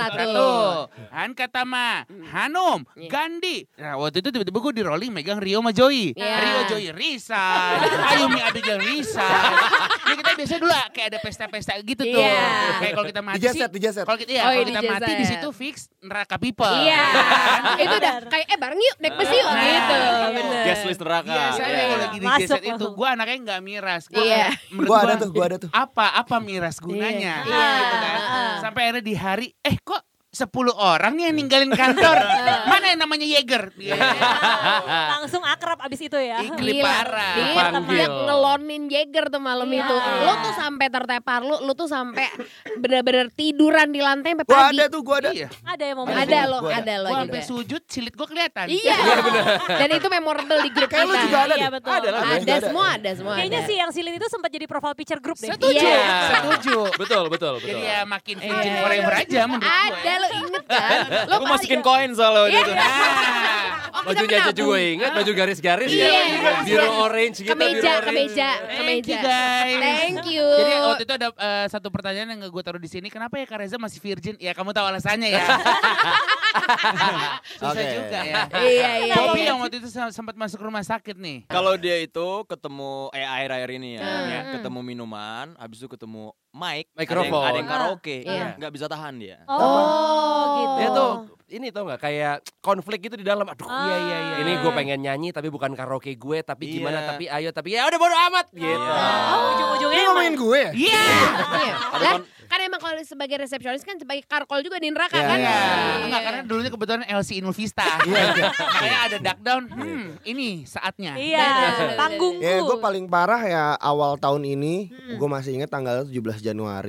D: Anka Tama, Hanum,
B: Iya.
D: Gandhi. Nah waktu itu tiba-tiba gue di rolling megang Rio sama Joy.
B: Iya.
D: Rio Joy resign, Ayumi Abigail resign. Ya kita biasa dulu kayak ada pesta-pesta gitu tuh.
B: Iya.
D: Kayak kalau kita mati sih,
F: Dijaset.
D: kalau kita,
B: Oh,
D: kalau
B: iya,
D: kita mati
B: dijaset.
D: di situ fix neraka people.
B: Iya. Itu udah kayak bareng yuk naik bus yuk
D: Nah,
B: gitu.
D: iya.
B: Bener.
G: Guest list neraka.
D: Biasanya
B: Iya.
D: kalau lagi di
E: Masuk
D: jaset itu,
E: langsung.
D: gue anaknya nggak miras.
B: Iya.
D: Menurut
F: Gua ada tuh.
D: Apa miras gunanya?
B: Iya.
D: Gitu kan. Sampai akhirnya di hari, kok 10 orang nih yang ninggalin kantor. Mana yang namanya Yeager?
E: Langsung akrab abis itu ya.
D: Gila, parah.
B: Dia
C: Dipanggil.
B: ngelonin Jagger tuh malam
E: Iya.
B: itu. Lu tuh sampai tertepar, lu tuh sampai bener-bener tiduran di lantai sampai
F: Gua
B: pagi.
F: ada tuh, gua ada.
D: Iya.
E: Ada yang mau
B: Ada lo,
F: Gua
B: ada lo
D: Gue
B: juga.
D: sampai sujud, silit gue kelihatan.
B: Iya. Dan itu memorable di grup
F: Kayak
B: kita.
F: lu juga ada
E: Iya
F: deh.
E: betul.
F: Ada lah, gua juga
B: Ada semua
E: Kayaknya
B: ada.
E: sih yang Silin itu sempat jadi profile picture group deh.
D: Setuju,
B: Iya.
D: setuju.
C: Betul.
D: Jadi ya makin virgin forever aja menurut gue.
B: Ada lo inget kan? Lo
G: Gue masukin koin soalnya waktu itu.
D: Nah,
C: Bajunya aja juga ingat, baju garis-garis
B: Iya.
C: ya. Biru orange gitu, biru
B: Kemeja,
C: orange.
D: thank you guys.
B: Thank you.
D: Jadi waktu itu ada satu pertanyaan yang gue taruh di sini. Kenapa ya Kak Reza masih virgin? Ya kamu tahu alasannya ya. Susah
F: Oke.
D: juga ya.
B: Iya.
D: Bobby yang waktu itu sempat masuk rumah sakit nih.
G: Kalau dia itu ketemu akhir-akhir ini ya,
B: Hmm.
G: ketemu minuman, habis itu ketemu mic,
C: Mikrofon.
G: ada yang karaoke,
B: Iya.
G: nggak bisa tahan dia.
E: Oh, gitu.
C: Dia tuh ini tau nggak kayak konflik gitu di dalam. Aduh,
D: Iya.
C: ini gue pengen nyanyi tapi bukan karaoke gue, tapi gimana?
G: Iya.
C: Tapi ayo, tapi ya udah bodo amat gitu.
E: Oh, ujung-ujungnya
F: Ini
E: emang.
F: ngomongin gue ya?
D: Iya.
B: Iya. Lah, kan emang kalau sebagai resepsionis kan sebagai karkol juga di neraka
F: Iya,
B: kan?
F: iya.
D: Enggak, karena dulunya kebetulan LC Inul Vista. Makanya ada duck down. Ini saatnya.
E: Iya, panggungku.
F: Ya gue paling parah ya awal tahun ini. Gue masih ingat tanggal 17 Januari.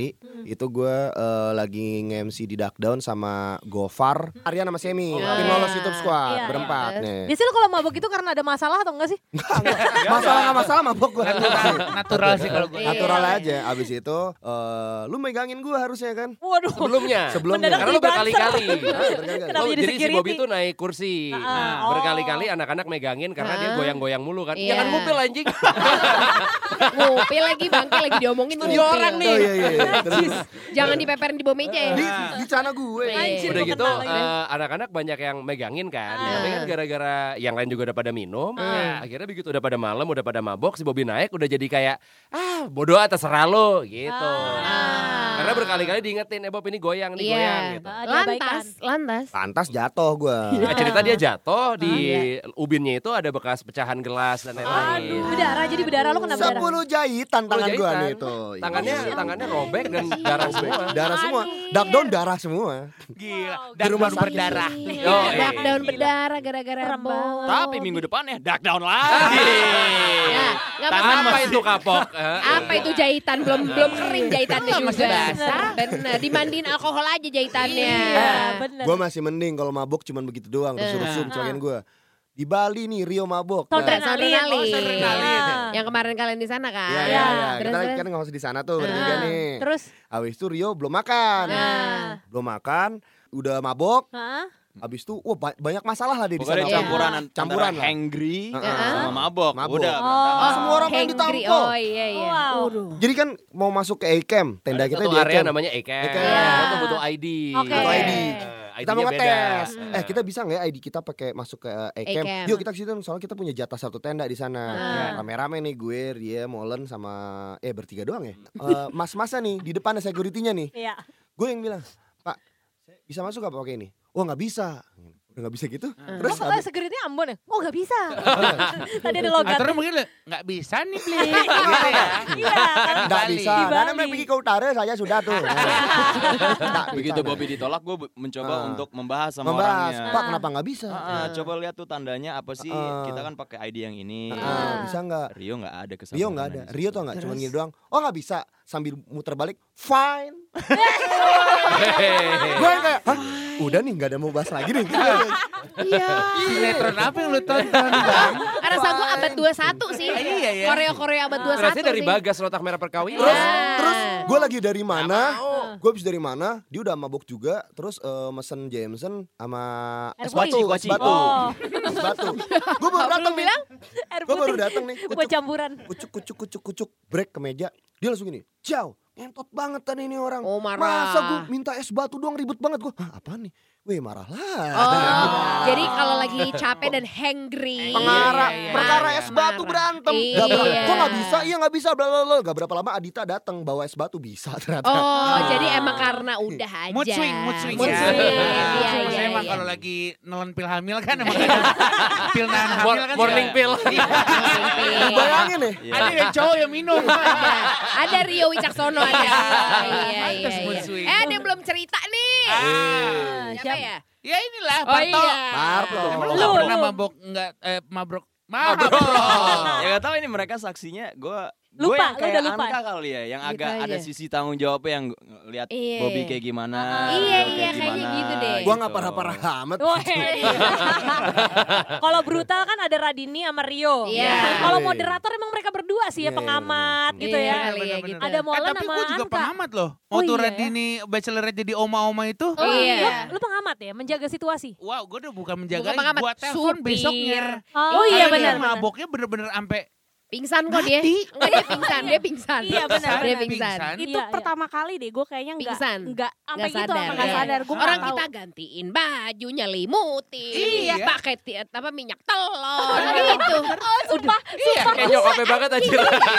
F: Itu gue lagi nge-MC di Duck Down sama Gofar, Aryan sama Semi. Tim lolos YouTube Squad berempat nih.
E: Biasanya lu kalau mabok itu karena ada masalah atau enggak sih?
F: Masalah mabok gue.
D: Natural sih kalau gue.
F: Natural aja. Abis itu lu megangin gue harusnya kan.
E: Waduh.
C: Sebelumnya.
E: Mendadak
C: Karena lu berkali-kali.
E: Kenapa jadi
C: Jadi si
E: security?
C: Bobby tuh naik kursi. Berkali-kali anak-anak megangin karena dia goyang-goyang mulu kan.
B: Iya.
C: Jangan ngupil anjing.
B: Ngupil lagi bangke lagi diomongin
C: Studio orang nih.
F: Oh iya. Terus
B: Jangan dipeperin di bawah meja ya.
F: di cana gue.
E: Anjir,
C: Udah
E: gua
C: gitu
E: kenal lagi.
C: anak-anak banyak yang megangin kan. Tapi kan gara-gara yang lain juga udah pada minum. Ya, akhirnya begitu udah pada malam, udah pada mabok, si Bobby naik udah jadi kayak bodoh terserah lo gitu. Karena berkali-kali diingetin, Bob ini goyang nih, goyang gitu.
B: Lantas
F: jatuh gue.
C: Nah, cerita dia jatuh di ubinnya itu ada bekas pecahan gelas dan lain-lain.
E: Aduh, berdarah, jadi berdarah lu kena berdarah.
F: 10 jahitan tangan gue nih itu.
C: Tangannya robek dan darah semua.
F: Darah semua. Duck Down darah semua.
D: Gila.
F: Di rumah sakit.
D: berdarah.
B: Duck Down berdarah gara-gara bau.
G: Tapi minggu depannya duck down lagi.
B: Ya, nggak
C: Tangan
B: apa-apa.
C: apa itu kapok?
B: Apa itu jahitan? Belum kering jahitannya
D: Masih
B: juga.
D: basah.
B: Bener, dimandiin alkohol aja jahitannya.
E: Bener.
F: Gue masih mending kalau mabok cuman begitu doang. Terus rusum celakain gue. Di Bali nih Rio mabok.
B: Yang kemarin kalian di sana kan?
F: Iya.
B: Terus,
F: Kita
B: terus.
F: kan nggak usah di sana tuh bertiga nih.
E: Terus?
F: Abis itu Rio belum makan. Belum makan. Udah mabok. Abis itu banyak masalah lah di sana.
G: Pokoknya campuran
F: lah.
G: hangry sama mabok.
F: Mabok.
G: Udah.
F: Semua orang pengen
B: hangry.
F: ditampol.
B: Oh iya.
F: Jadi kan mau masuk ke A-Camp. Tenda kita
C: Satu
F: di
C: area
F: A-Camp.
C: namanya E-Camp.
F: E-Camp.
C: Itu butuh ID.
E: Oke.
F: Butuh ID. Kita mau
C: ID-nya beda.
F: ngetes. Kita bisa nggak ya ID kita pakai masuk ke A-Camp?
B: A-Camp.
F: Yuk kita ke situ. Soalnya kita punya jatah satu tenda di sana. Rame-rame nih gue, dia, Molen sama bertiga doang ya. Mas-masa nih di depan ada security-nya nih.
E: Iya.
F: Gue yang bilang, Pak, saya bisa masuk gak pakai ini? Oh nggak bisa. Udah nggak bisa gitu. Terus
E: Terus security Ambon ya? Oh gak bisa. Tadi ada logat.
D: Aturan mungkin nggak bisa nih beli.
E: Iya.
F: nggak bisa.
E: Di
F: Karena
E: Bali.
F: pergi ke utara saya sudah tuh. Nggak
G: Begitu
F: bisa.
G: Bobby ditolak, gue mencoba untuk membahas sama
F: Membahas,
G: orangnya.
F: Pak kenapa nggak bisa?
G: Coba lihat tuh tandanya apa sih? Kita kan pakai ID yang ini.
F: Bisa nggak?
G: Rio nggak ada kesabaran.
F: Rio nggak ada. Rio tuh nggak cuma gini doang. Oh nggak bisa. Sambil muter balik, fine. Gue kayak, hah? Udah nih nggak ada mau bahas lagi nih.
B: Iya.
D: Sinetron apa yang lu tonton bang?
B: Rasa gue abad 21 sih.
D: Iya ya.
B: Korea abad 21
C: Berarti dari
B: sih.
C: Bagas Rotak Merah Perkawinan.
F: Terus gue lagi dari mana? Gue habis dari mana? Dia udah mabok juga. Terus mesen Jameson sama es batu. Es batu. Es batu. Gue baru datang nih. Gue baru datang nih.
E: Buat campuran.
F: Kucuk. Break ke meja. Dia langsung gini. Ciao. Ngentot banget tadi ini orang.
B: Oh, marah.
F: Masa gue minta es batu doang ribet banget gue. Hah apaan nih? Weh marah lah.
B: Jadi kalau lagi capek dan hangry.
F: Perkara es batu berantem.
B: Iya.
F: Kok nggak bisa? Iya nggak bisa. Blablabla. Gak berapa lama Adita datang bawa es batu bisa ternyata.
B: Oh, jadi emang karena udah aja.
D: Mood swing.
B: Mood
D: ya.
B: swing. Iya,
D: Saya
B: iya,
D: emang
B: iya.
D: kalau lagi nelen pil hamil kan emang pil nahan hamil kan
C: Morning pill.
F: Bayangin nih.
D: Ada yang cowok yang minum.
B: Ada Rio Wicaksono ada. Iya.
D: Pantes mood swing.
B: Ada yang belum cerita nih. Siapa ya?
D: Ya inilah
B: Oh
D: Parto.
B: iya.
F: Parto.
D: Emang lu nggak pernah mabok mabrok.
G: Ya gak tahu ini mereka saksinya gue
E: Lupa,
G: yang
E: lu
G: kayak
E: udah lupa.
G: Anka kali ya, yang
B: Gitu
G: agak
B: aja.
G: ada sisi tanggung jawabnya yang lihat
B: Iya.
G: Bobby kayak gimana,
B: Iya,
G: Rio kayak
B: kayaknya
G: gimana,
B: gitu deh.
F: Gua nggak parah-parah amat.
E: Kalau brutal kan ada Radini sama Rio.
B: Iya.
E: Kalau moderator emang mereka berdua sih ya,
F: Iya,
E: pengamat
F: bener.
E: gitu
B: Iya,
E: ya.
B: kali ya, gitu.
E: Ada Molan
D: Tapi
E: sama
D: gue juga
E: Anka.
D: pengamat loh.
E: Oh,
D: Waktu
E: iya ya?
D: Radini Bachelorette jadi oma-oma itu.
E: Oh,
B: Iya.
E: lu pengamat ya, menjaga situasi.
D: Wow, gue udah bukan menjaga,
B: Bukan pengamat,
D: gue telepon
B: supir.
D: besoknya.
E: Oh iya
D: Karena dia
E: benar.
D: maboknya bener-bener sampai
B: Pingsan kok dia.
D: Mati.
B: Enggak, dia pingsan.
E: Iya, benar,
B: Dia
E: benar.
B: pingsan.
H: Itu
E: Iya, iya.
H: pertama kali deh gue kayaknya
B: Pingsan.
H: enggak sampai
B: Nggak
H: gitu
B: sadar.
H: apa enggak
B: Iya.
H: sadar. Gue
B: Orang kita gantiin baju, nyelimutin,
D: Iya.
B: pakai minyak telur gitu.
E: Sumpah,
D: Iya,
C: Kayak nyokapnya banget aja.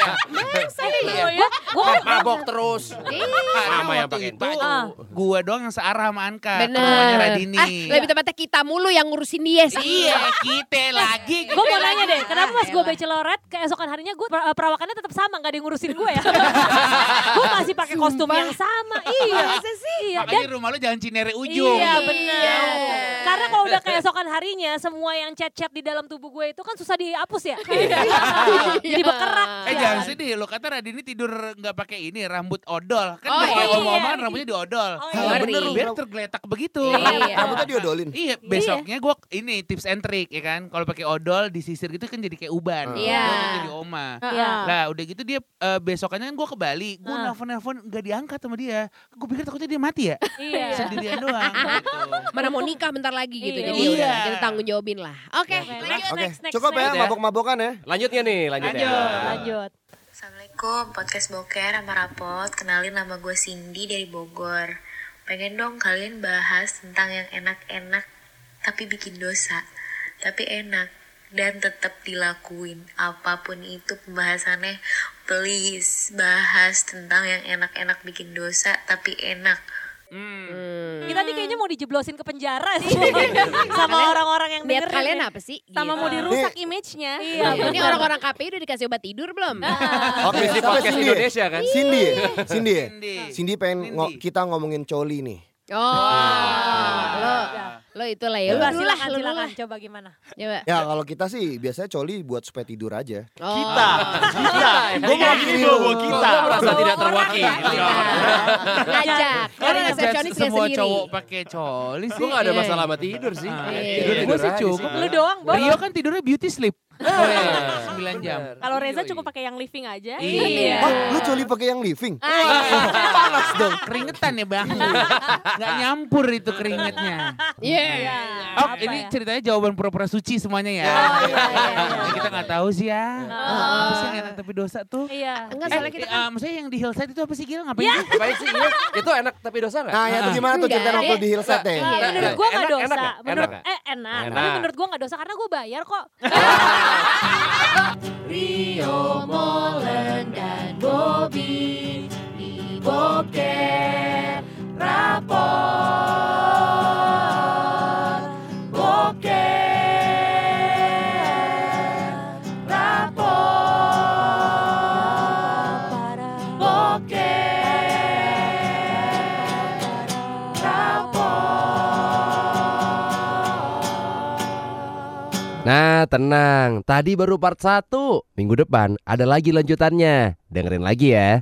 E: Gua
C: Mabok terus.
D: Karena
C: Mama yang
D: waktu
C: pakai
D: itu
C: baju.
D: gue doang yang searah sama Anka.
B: Bener.
D: Rumahnya Radini.
B: Lebih tepatnya kita mulu yang ngurusin dia sih.
D: Iya, kita lagi.
E: Gue mau nanya deh, kenapa pas gue bachelorette keesokan harinya gue perawakannya tetap sama, gak ada yang ngurusin gue ya? Gue masih pakai kostum yang sama, iya. Iya,
D: Makanya rumah lu jangan Cinere ujung.
E: iya benar. Karena kalau udah keesokan harinya semua yang chat-chat di dalam tubuh gue itu kan susah dihapus ya. Jadi berkerak.
D: Jangan sedih, lo kata Radini tidur nggak pakai ini rambut odol. Kan
B: Oh,
D: kayak
B: iya.
D: omong-omongan rambutnya diodol. Bener lu biar tergeletak begitu.
F: Rambutnya diodolin.
D: Iya, besoknya gue ini tips and trick ya kan. Kalau pakai odol disisir gitu kan jadi kayak uban.
B: Iya.
D: Gua kan jadi oma.
E: Iya.
D: Lah udah gitu dia besokannya kan gue ke Bali. Gue nelfon nggak diangkat sama dia. Gue pikir takutnya dia mati ya.
E: Iya.
D: Sendirian doang. Gitu.
B: Mana mau nikah bentar lagi gitu.
E: Iya.
B: Jadi
D: Iya.
B: udah kita tanggung jawabin lah. Oke, lanjut.
F: Oke,
E: next,
F: cukup ya
C: next.
F: mabok-mabokan ya.
C: Lanjutnya nih, lanjutnya.
E: Lanjut.
L: Assalamualaikum, podcast Boker sama Rapot. Kenalin nama gue Cindy dari Bogor. Pengen dong kalian bahas tentang yang enak-enak tapi bikin dosa. Tapi enak dan tetap dilakuin. Apapun itu pembahasannya, please bahas tentang yang enak-enak bikin dosa tapi enak.
E: Kita nih kayaknya mau dijeblosin ke penjara sih. Sama orang-orang yang
B: Niat
E: dengerin.
B: kalian
E: nih.
B: apa sih?
H: Sama mau dirusak image-nya.
E: Iya.
B: Ini orang-orang KPI udah dikasih obat tidur belum?
F: Oke,
C: Di
F: siapa
C: podcast
F: Cindy?
C: Indonesia kan.
F: Cindy ya? Cindy ya?
D: Cindy.
F: Cindy pengen kita ngomongin coli nih.
B: Lo itulah ya.
E: Coba
B: Lu dulu lah,
E: silakan,
B: lu dulu
E: silakan.
B: lah.
E: Coba gimana?
B: Coba.
F: Ya kalau kita sih biasanya coli buat supaya tidur aja.
G: Kita. Gue mau gini bawa kita.
C: Gue merasa tidak terwakili.
B: Ngajak. Karena
D: Karena
B: resepsionis gak
D: semua
B: sendiri.
D: cowok pakai coli sih.
C: Gue gak ada masalah sama tidur sih.
D: Gue sih cukup.
E: Lu doang, Bob.
D: Rio kan tidurnya beauty sleep. 9 jam.
H: Kalau Reza cukup pakai yang living aja.
B: Iya.
F: Wah, lu coli pakai yang living? Panas dong.
D: Keringetan ya bang. Gak nyampur itu keringetnya.
B: Iya.
D: Oh ini ceritanya jawaban pura-pura suci semuanya ya. Yang kita gak tahu sih ya. Apa sih yang enak tapi dosa tuh?
E: Iya.
B: Enggak, soalnya kita kan
D: Maksudnya yang di hillside itu apa sih Gil? Ngapain sih?
C: Baik sih, iya. Itu enak tapi dosa gak?
F: Nah, ya itu gimana tuh cerita
B: Enggak.
F: waktu di Hillside deh?
E: Menurut gue gak
C: Enak,
E: dosa.
C: enak nggak?
E: Menurut
C: Enak
E: enak.
C: Enak.
E: Tapi menurut gue gak dosa karena gue bayar kok.
A: Rio Molen dan Bobby di Boker Rapot. Boker Rapot. Boker Rapot.
C: Nah tenang, tadi baru part 1. Minggu depan ada lagi lanjutannya. Dengerin lagi ya.